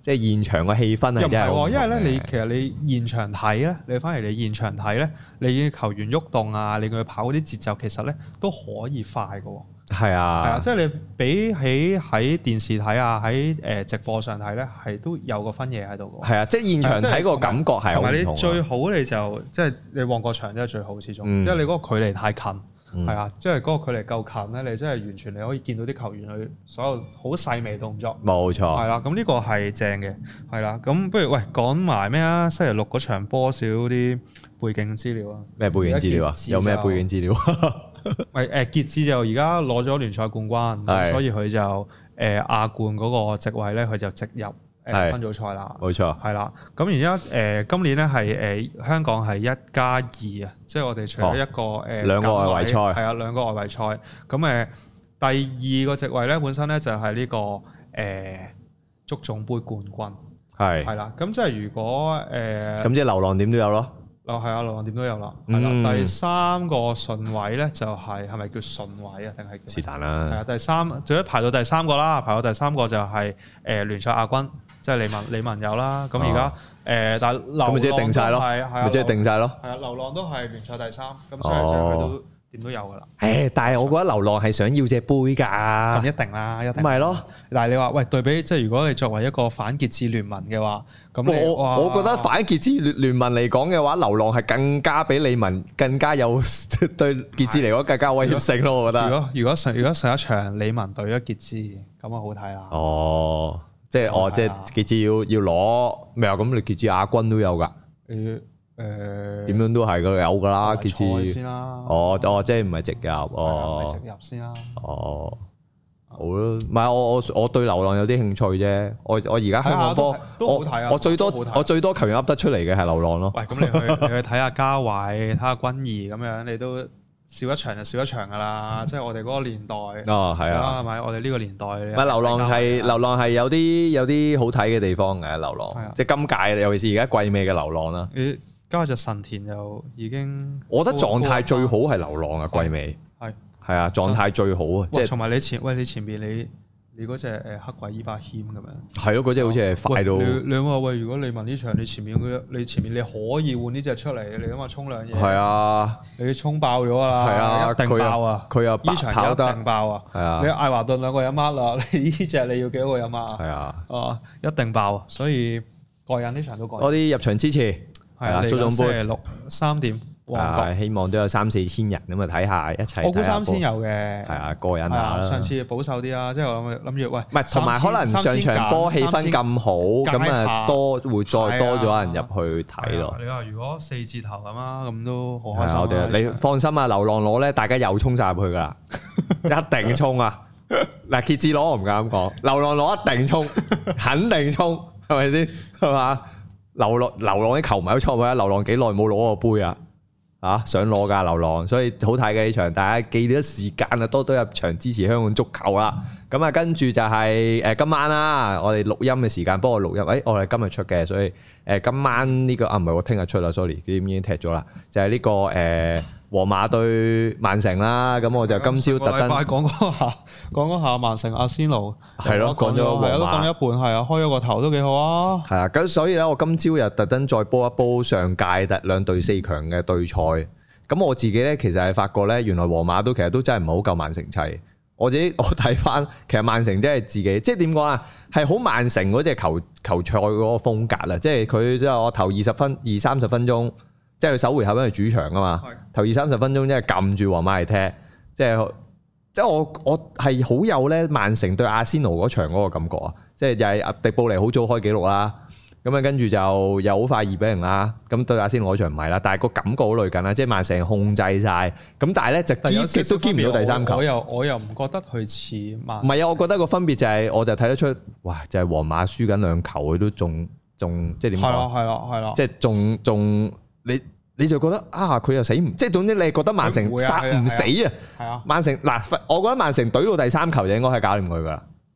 Speaker 1: 即係現場嘅氣氛係真係好唔同嘅。
Speaker 2: 因為咧，你其實你現場睇咧，你反而你現場睇咧，你球員喐動啊，你佢跑嗰啲節奏，其實咧都可以快嘅喎。
Speaker 1: 係啊，
Speaker 2: 係啊，即係你比起喺電視睇啊，喺誒直播上睇咧，係都有個分野喺度嘅。
Speaker 1: 係啊，即係現場睇個感覺係好唔同。同埋你
Speaker 2: 最好你就即係你旺角場真係最好始終，因為你嗰個距離太近。係啊，即係嗰個距離夠近咧，你真係完全你可以見到啲球員佢所有好細微動作。冇錯。係啦，咁呢個係正嘅，係啦。咁不如喂講埋咩啊？星期六嗰場波少啲背景資料啊？咩背景資料啊？有咩背景資料？喂誒，傑志就而家攞咗聯賽冠軍，所以佢就誒亞冠嗰個席位咧，佢就直入誒分組賽啦。冇錯。係啦，咁而家誒今年咧係誒香港係一加二啊，即係我哋除咗一個誒兩個外圍賽，係啊兩個外圍賽。咁誒第二個席位咧本身咧就係呢個誒足總杯冠軍。係。係啦，咁即係如果誒咁即係流浪點都有咯。哦，係啊，流浪點都有啦。係啦，第三個順位咧就係係咪叫順位啊？定係是但啦。係啊，第三，最尾排到第三個啦，排到第三個就係誒聯賽亞軍，即係李文李文有啦。咁而家誒，但係流浪咪即係定晒咯，咪即係定晒咯。係啊，流浪都係聯賽第三，咁所以就佢都點都有噶啦。誒，但係我覺得流浪係想要隻杯㗎。咁一定啦，一定。咪係咯。但係你話喂對比，即係如果你作為一個反傑志聯盟嘅話，咁我我覺得反傑志聯聯盟嚟講嘅話，流浪係更加比李文更加有對傑志嚟講更加威脅性咯。我覺得。如果如果上如果上一場李文對咗傑志，咁啊好睇啦。哦，即係哦，即係傑志要要攞咩啊？咁你傑志亞軍都有㗎。誒。誒點樣都係個有㗎啦，傑志先啦。哦哦，即係唔係直入哦？唔係直入先啦。哦，好咯，唔係我我我對流浪有啲興趣啫。我我而家香港波都好睇啊！我最多我最多球員噏得出嚟嘅係流浪咯。喂，咁你去你去睇下嘉偉，睇下君怡咁樣，你都笑一場就笑一場㗎啦。即係我哋嗰個年代。哦，係啊，係咪？我哋呢個年代。唔係流浪係流浪係有啲有啲好睇嘅地方嘅流浪，即係今屆尤其是而家季尾嘅流浪啦。加隻神田又已經，我覺得狀態最好係流浪啊！季尾係係啊，狀態最好啊！即係同埋你前喂你前邊你你嗰隻誒黑鬼伊巴謙咁樣，係咯，嗰隻好似係快到。你你話喂，如果你問呢場你前面嗰你前面你可以換呢隻出嚟，你諗下沖兩嘢，係啊，你沖爆咗啦，係啊，一定爆啊！佢又呢場一定爆啊！係啊，你艾華頓兩個有乜啦？你呢隻你要幾多個有乜？係啊，啊一定爆啊！所以過癮呢場都過癮。多啲入場支持。係啦，足總杯星期六三點，啊，希望都有三四千人咁啊，睇下一齊。我估三千有嘅，係啊，過癮啊！上次保守啲啊，即係我諗諗住喂，唔係同埋可能上場波氣氛咁好，咁啊多會再多咗人入去睇咯。你話如果四字頭咁啊，咁都好開心。我哋你放心啊，流浪攞咧，大家又衝晒入去噶啦，一定衝啊！嗱，傑志攞我唔敢咁講，流浪攞一定衝，肯定衝，係咪先？係嘛？流浪流浪啲球迷都錯唔錯啊！流浪幾耐冇攞過杯啊？啊，想攞㗎流浪，所以好睇嘅呢場，大家記得時間啊，多多入場支持香港足球啦。咁啊，跟住就係誒今晚啦，我哋錄音嘅時間，幫我錄音。誒，我哋今日出嘅，所以誒今晚呢個啊唔係我聽日出啦 ，sorry，已經踢咗啦，就係呢個誒皇馬對曼城啦。咁我就今朝特登講嗰下，講嗰下曼城阿仙奴係咯，講咗皇馬都講咗一半，係啊，開咗個頭都幾好啊。係啊，咁所以咧，我今朝又特登再煲一煲上屆特兩隊四強嘅對賽。咁我自己咧，其實係發覺咧，原來皇馬都其實都真係唔係好夠曼城砌。我自己我睇翻，其實曼城真係自己，即係點講啊？係好曼城嗰隻球球賽嗰個風格啦，即係佢即係我頭二十分二三十分鐘，即係佢首回合因為主場啊嘛，頭二三十分鐘即係撳住皇馬嚟踢，即係即係我我係好有咧曼城對阿仙奴嗰場嗰個感覺啊！即係又係阿迪布尼好早開紀錄啦。咁啊，跟住就又好快二比零啦。咁對阿仙奴嗰場唔係啦，但係個感覺好類近啦，即係曼城控制晒。咁但係咧就堅極都堅唔到第三球。我又我又唔覺得佢似曼。唔係啊，我覺得個分別就係，我就睇得出，哇！就係皇馬輸緊兩球，佢都仲仲即係點講？係咯係咯係咯。即係仲仲你你就覺得啊，佢又死唔即係總之你覺得曼城殺唔死啊？係啊。曼城嗱，我覺得曼城懟到第三球就應該係搞掂佢噶啦。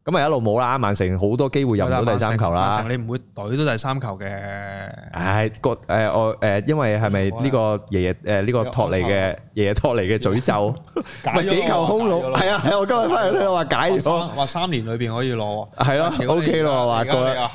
Speaker 1: 咁啊一路冇啦，曼城好多機會入唔到第三球啦。
Speaker 2: 曼城你唔會懟到第三球嘅。
Speaker 1: 唉，個誒我誒，因為係咪呢個爺爺誒呢個托尼嘅爺爺托尼嘅詛咒？唔係幾球空籠，係啊係啊！我今日翻嚟都話解咗，話
Speaker 2: 三年裏邊可以攞，
Speaker 1: 係咯 OK 咯，話過啦。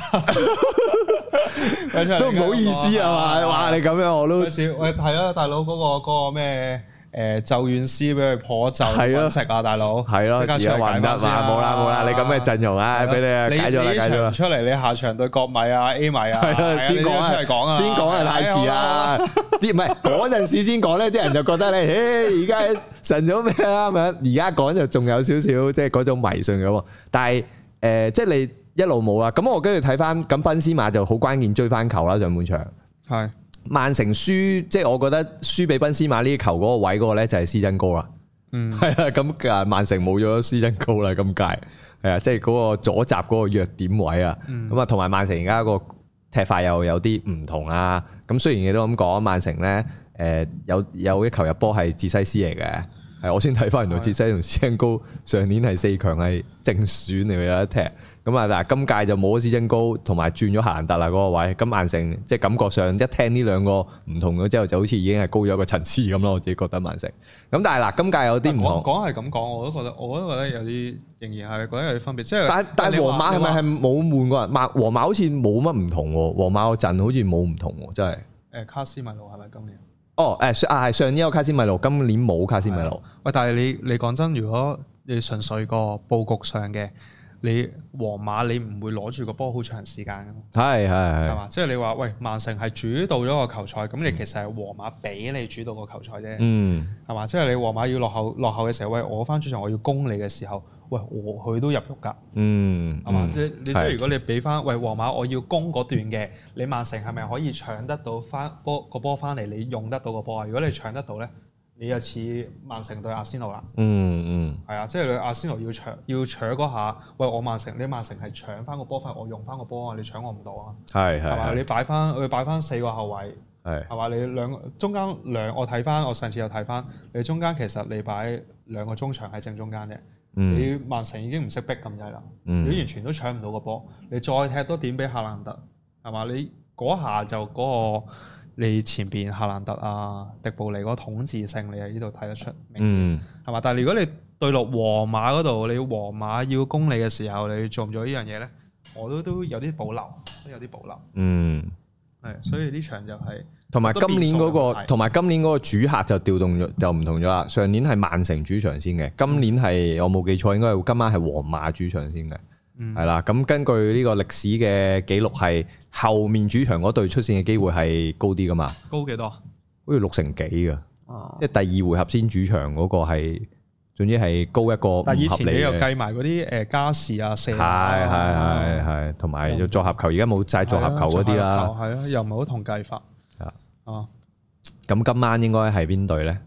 Speaker 1: 都唔好意思啊嘛，哇！你咁樣我都
Speaker 2: 少喂係啊，大佬嗰個嗰個咩？誒咒怨師俾佢破咒揾食啊，大佬
Speaker 1: 係咯，而家還得嘛？冇啦冇啦，你咁嘅陣容啊，俾你啊解咗啦解咗啦。出嚟你下場對國米啊 A 米啊，係啊先講啊，先講係太遲啊！啲唔係嗰陣時先講咧，啲人就覺得你，誒而家神咗咩啊咁樣，而家講就仲有少少即係嗰種迷信嘅喎。但係誒，即係你一路冇啦。咁我跟住睇翻，咁賓斯馬就好關鍵追翻球啦，上半場係。曼城輸，即係我覺得輸俾賓斯馬呢球嗰個位嗰個咧就係施真高啦，嗯，係啊，咁啊曼城冇咗施真高啦，今屆係啊，即係嗰個左閘嗰個弱點位啊，咁啊同埋曼城而家個踢法又有啲唔同啦，咁雖然你都咁講，曼城咧誒有有一球入波係哲西斯嚟嘅，係我先睇翻原來哲西同施真高上年係四強係正選嚟嘅有一踢。咁啊，嗱，今屆就冇咗施真高，同埋轉咗夏蘭特啦嗰個位。咁曼城即係感覺上一聽呢兩個唔同咗之後，就好似已經係高咗一個層次咁咯。我自己覺得曼城。咁但係嗱，今屆有啲唔同。講係咁講，我都覺得，我都覺得有啲仍然係覺得有啲分別。即係但但係皇馬係咪係冇換過人？曼皇馬好似冇乜唔同喎。皇馬個陣好似冇唔同喎，真係。誒卡斯米路係咪今年？哦，誒啊係上年有卡斯米路，今年冇卡斯米路。喂，但係你你講真，如果你純粹個佈局上嘅。你皇馬你唔會攞住個波好長時間㗎，係係係，係嘛？即係你話喂，曼城係主導咗個球賽，咁你其實係皇馬俾你主導個球賽啫，嗯，係嘛？即係你皇馬要落後落後嘅時候，喂，我翻主場我要攻你嘅時候，喂，我佢都入肉㗎，嗯，係嘛？即係你即係如果你俾翻喂皇馬我要攻嗰段嘅，你曼城係咪可以搶得到翻波個波翻嚟？你用得到個波啊？如果你搶得到咧？你又似曼城對阿仙奴啦，嗯嗯，係啊，即係你阿仙奴要搶要搶嗰下，喂我曼城，你曼城係搶翻個波翻，我用翻個波啊，你搶我唔到啊，係係嘛？你擺翻佢擺翻四個後衞，係係嘛？你兩個中間兩，我睇翻我上次又睇翻，你中間其實你擺兩個中場喺正中間啫，嗯、你曼城已經唔識逼咁滯啦，嗯、你完全都搶唔到個波，你再踢多點俾夏蘭特，係嘛？你嗰下就嗰、嗰個。你前邊夏蘭特啊、迪布尼嗰個統治性，你喺呢度睇得出，嗯，係嘛？但係如果你對落皇馬嗰度，你皇馬要攻你嘅時候，你做唔做呢樣嘢咧？我都都有啲保留，都有啲保留。嗯，係，所以呢場就係同埋今年嗰個，同埋今年嗰個主客就調動咗，就唔同咗啦。上年係曼城主場先嘅，今年係我冇記錯，應該係今晚係皇馬主場先嘅。係啦，咁根據呢個歷史嘅記錄，係後面主場嗰隊出線嘅機會係高啲噶嘛？高幾多？好似六成幾噶，哦、即係第二回合先主場嗰個係，總之係高一個唔合理嘅。但係以前你又計埋嗰啲誒加時啊、射啊，係係係係，同埋要作合球，而家冇晒作合球嗰啲啦。係啊，又唔係好同計法。啊，哦，咁今晚應該係邊隊咧？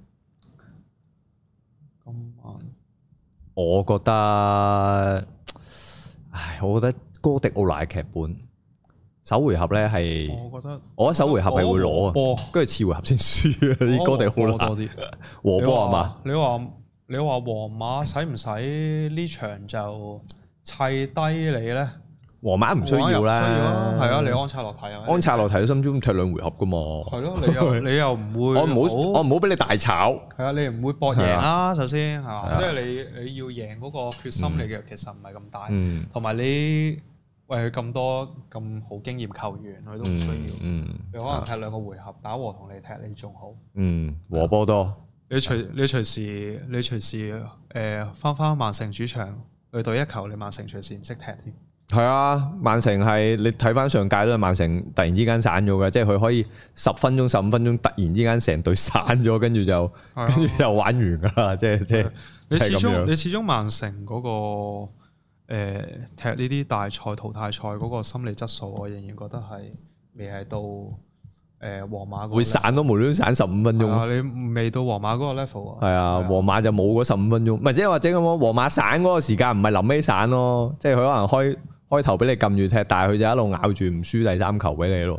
Speaker 1: 今晚我覺得。唉，我覺得哥迪奧拿嘅劇本首回合咧係，我覺得我覺得首回合係會攞啊，跟住次回合先輸啊！啲哥迪奧拿多啲和波係嘛？你話你話皇馬使唔使呢場就砌低你咧？皇馬唔需要啦，需要啊，係啊，你安察洛提啊，安察洛提喺心中踢兩回合噶嘛？係咯，你又你又唔會，我唔好我唔好俾你大炒，係啊，你唔會搏贏啦，首先係嘛？即係你你要贏嗰個決心嚟嘅，其實唔係咁大，同埋你喂佢咁多咁好經驗球員，佢都唔需要，你可能踢兩個回合打和同你踢你仲好，嗯，和波多，你隨你隨時你隨時誒翻翻曼城主場去對一球，你曼城隨時唔識踢添。係啊，曼城係你睇翻上屆都係曼城突然之間散咗嘅，即係佢可以十分鐘、十五分鐘突然之間成隊散咗，跟住就跟住就玩完噶啦，即係即係。你始終你始終曼城嗰個誒踢呢啲大賽淘汰賽嗰個心理質素，我仍然覺得係未係到誒皇馬會散都無端端散十五分鐘。你未到皇馬嗰個 level 啊？係啊，皇馬就冇嗰十五分鐘，唔係即係或者咁講，皇馬散嗰個時間唔係臨尾散咯，即係佢可能開。開頭俾你撳住踢，但係佢就一路咬住唔輸第三球俾你咯，即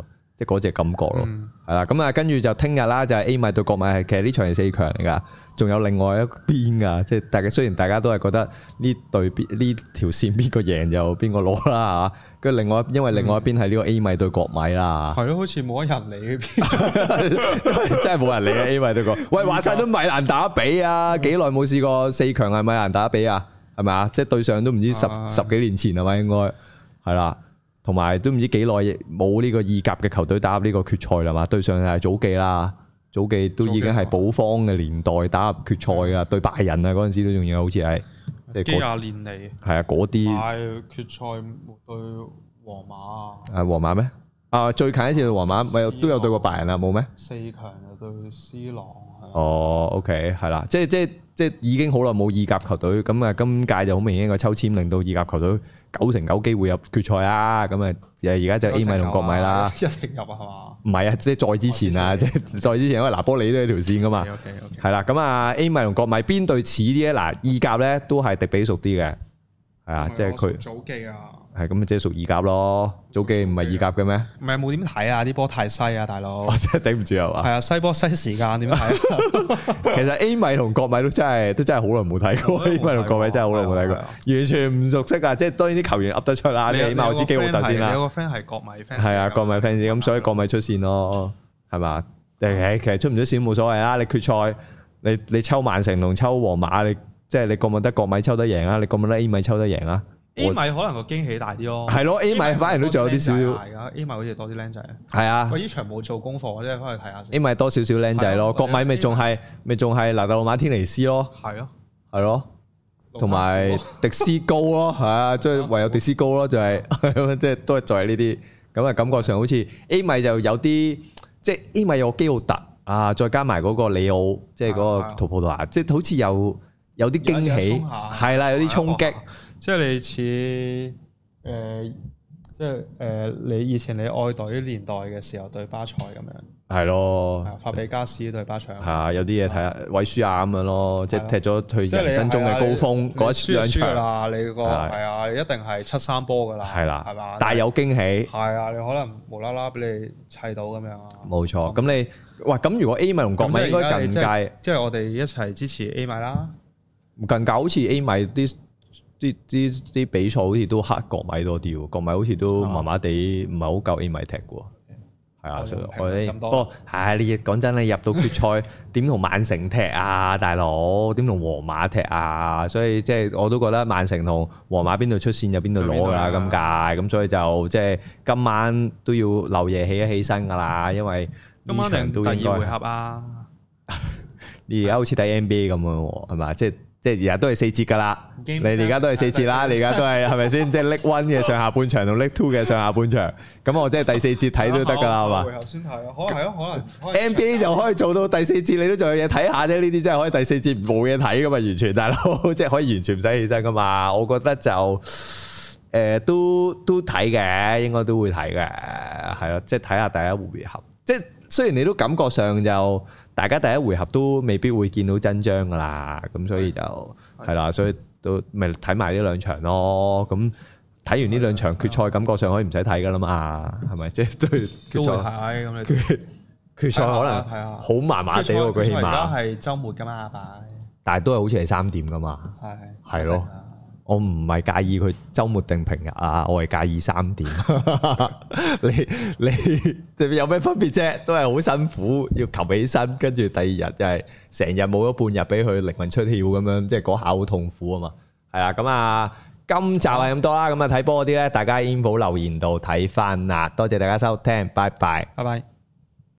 Speaker 1: 即係嗰隻感覺咯，係啦。咁啊，跟住就聽日啦，就係 A 米對國米，係其實呢場係四強嚟噶，仲有另外一邊噶，即係大家雖然大家都係覺得呢隊邊呢條線邊個贏就邊個攞啦嚇，跟住另外因為另外一邊係呢個 A 米對國米啦，
Speaker 2: 係咯，好似冇乜人理呢邊，
Speaker 1: 因為真係冇人理啊 A 米對國，喂話晒都米蘭打比啊，幾耐冇試過四強係米蘭打比啊，係咪啊？即係對上都唔知十十幾年前係咪應該係啦。同埋都唔知幾耐冇呢個意甲嘅球隊打入呢個決賽啦嘛，對上係祖記啦，祖記都已經係保方嘅年代打入決賽噶，對拜仁啊嗰陣時都仲有好似係即係幾廿年嚟，係啊嗰啲。係決賽對皇馬啊？係皇馬咩？啊最近一次對皇馬咪都有對過拜仁啊，冇咩？四強就對 C 朗。哦 OK 係啦，即係即係即係已經好耐冇意甲球隊，咁啊今屆就好明顯個抽籤令到意甲球隊九成九機會入決賽啊！咁啊，而家就 A 米同國米啦，一定入啊，係嘛？唔係啊，即係再之前啊，即係再之前，因為拿波里都有條線噶嘛。係啦，咁啊 A 米同國米邊隊似啲咧？嗱，意甲咧都係迪比熟啲嘅，係啊，即係佢。祖記啊！係咁即係屬意甲咯，祖記唔係意甲嘅咩？唔係冇點睇啊！啲波太西啊，大佬！我真係頂唔住啊嘛！係啊，西波西時間點睇？其實 A 米同國米都真係都真係好耐冇睇過 ，A 米同國米真係好耐冇睇過，完全唔熟悉啊！即係當然啲球員噏得出啦，你起碼我知基奧特先啦。有個 friend 係國米 fans，係啊，國米 fans 咁，所以國米出線咯，係嘛？誒，其實出唔出線冇所謂啦。你決賽你你抽曼城同抽皇馬，你即係你覺唔覺得國米抽得贏啊？你覺唔覺得 A 米抽得贏啊？A 米可能個驚喜大啲咯，係咯 A 米反而都仲有啲少少，係啊 A 米好似多啲僆仔，係啊，我呢場冇做功課，我真係翻去睇下先。A 米多少少僆仔咯，國米咪仲係咪仲係拿特魯馬天尼斯咯，係咯係咯，同埋迪斯高咯，係啊，即係唯有迪斯高咯，就係即係都係在呢啲咁啊，感覺上好似 A 米就有啲即係 A 米有個基奧特啊，再加埋嗰個里奧，即係嗰個圖葡萄牙，即係好似有有啲驚喜，係啦，有啲衝擊。即係你似誒，即係誒，你以前你愛隊年代嘅時候對巴塞咁樣，係咯，法比加斯對巴塞，係啊，有啲嘢睇下，韋舒亞咁樣咯，即係踢咗佢人生中嘅高峰嗰一兩場啦，你個係啊，你一定係七三波噶啦，係啦，係嘛，但係有驚喜，係啊，你可能無啦啦俾你砌到咁樣啊，冇錯，咁你哇咁如果 A 米同國米應該近屆，即係我哋一齊支持 A 米啦，近屆好似 A 米啲。啲啲啲比賽好似都黑國米多啲喎，國米好似都麻麻地，唔係好夠 A 米踢嘅，係啊，所以我哋不過係你講真你入到決賽點同曼城踢啊，大佬點同皇馬踢啊，所以即係我都覺得曼城同皇馬邊度出線就邊度攞㗎啦，今屆咁所以就即係今晚都要漏夜起一起身㗎啦，因為今晚定第二回合啊，你而家好似睇 N B A 咁樣喎，係嘛？即係。即係而家都係四節㗎啦，你而家都係四節啦，你而家都係係咪先？即係 League One 嘅上下半場同 League Two 嘅上下半場，咁我即係第四節睇都得㗎啦，係嘛？回合先睇啊，可能係咯，可能 N B A 就可以做到第四節，你都仲有嘢睇下啫。呢啲真係可以第四節冇嘢睇㗎嘛，完全大佬，即係可以完全唔使起身㗎嘛。我覺得就誒都都睇嘅，應該都會睇嘅，係咯，即係睇下第一回合。即係雖然你都感覺上就。大家第一回合都未必會見到真章噶啦，咁所以就係啦，所以都咪睇埋呢兩場咯。咁睇完呢兩場決賽，感覺上可以唔使睇噶啦嘛，係咪？即係對決賽睇咁你決決賽可能好麻麻地喎，佢起碼而家係週末噶嘛，但係都係好似係三點噶嘛，係係咯。我唔係介意佢週末定平日啊，我係介意三點。你你即係有咩分別啫？都係好辛苦，要擒起身，跟住第二日就係成日冇咗半日俾佢靈魂出竅咁樣，即係嗰下好痛苦啊嘛。係啊，咁啊，今集係咁多啦。咁啊睇波嗰啲咧，大家喺 info 留言度睇翻啦。多謝大家收聽，拜拜，拜拜。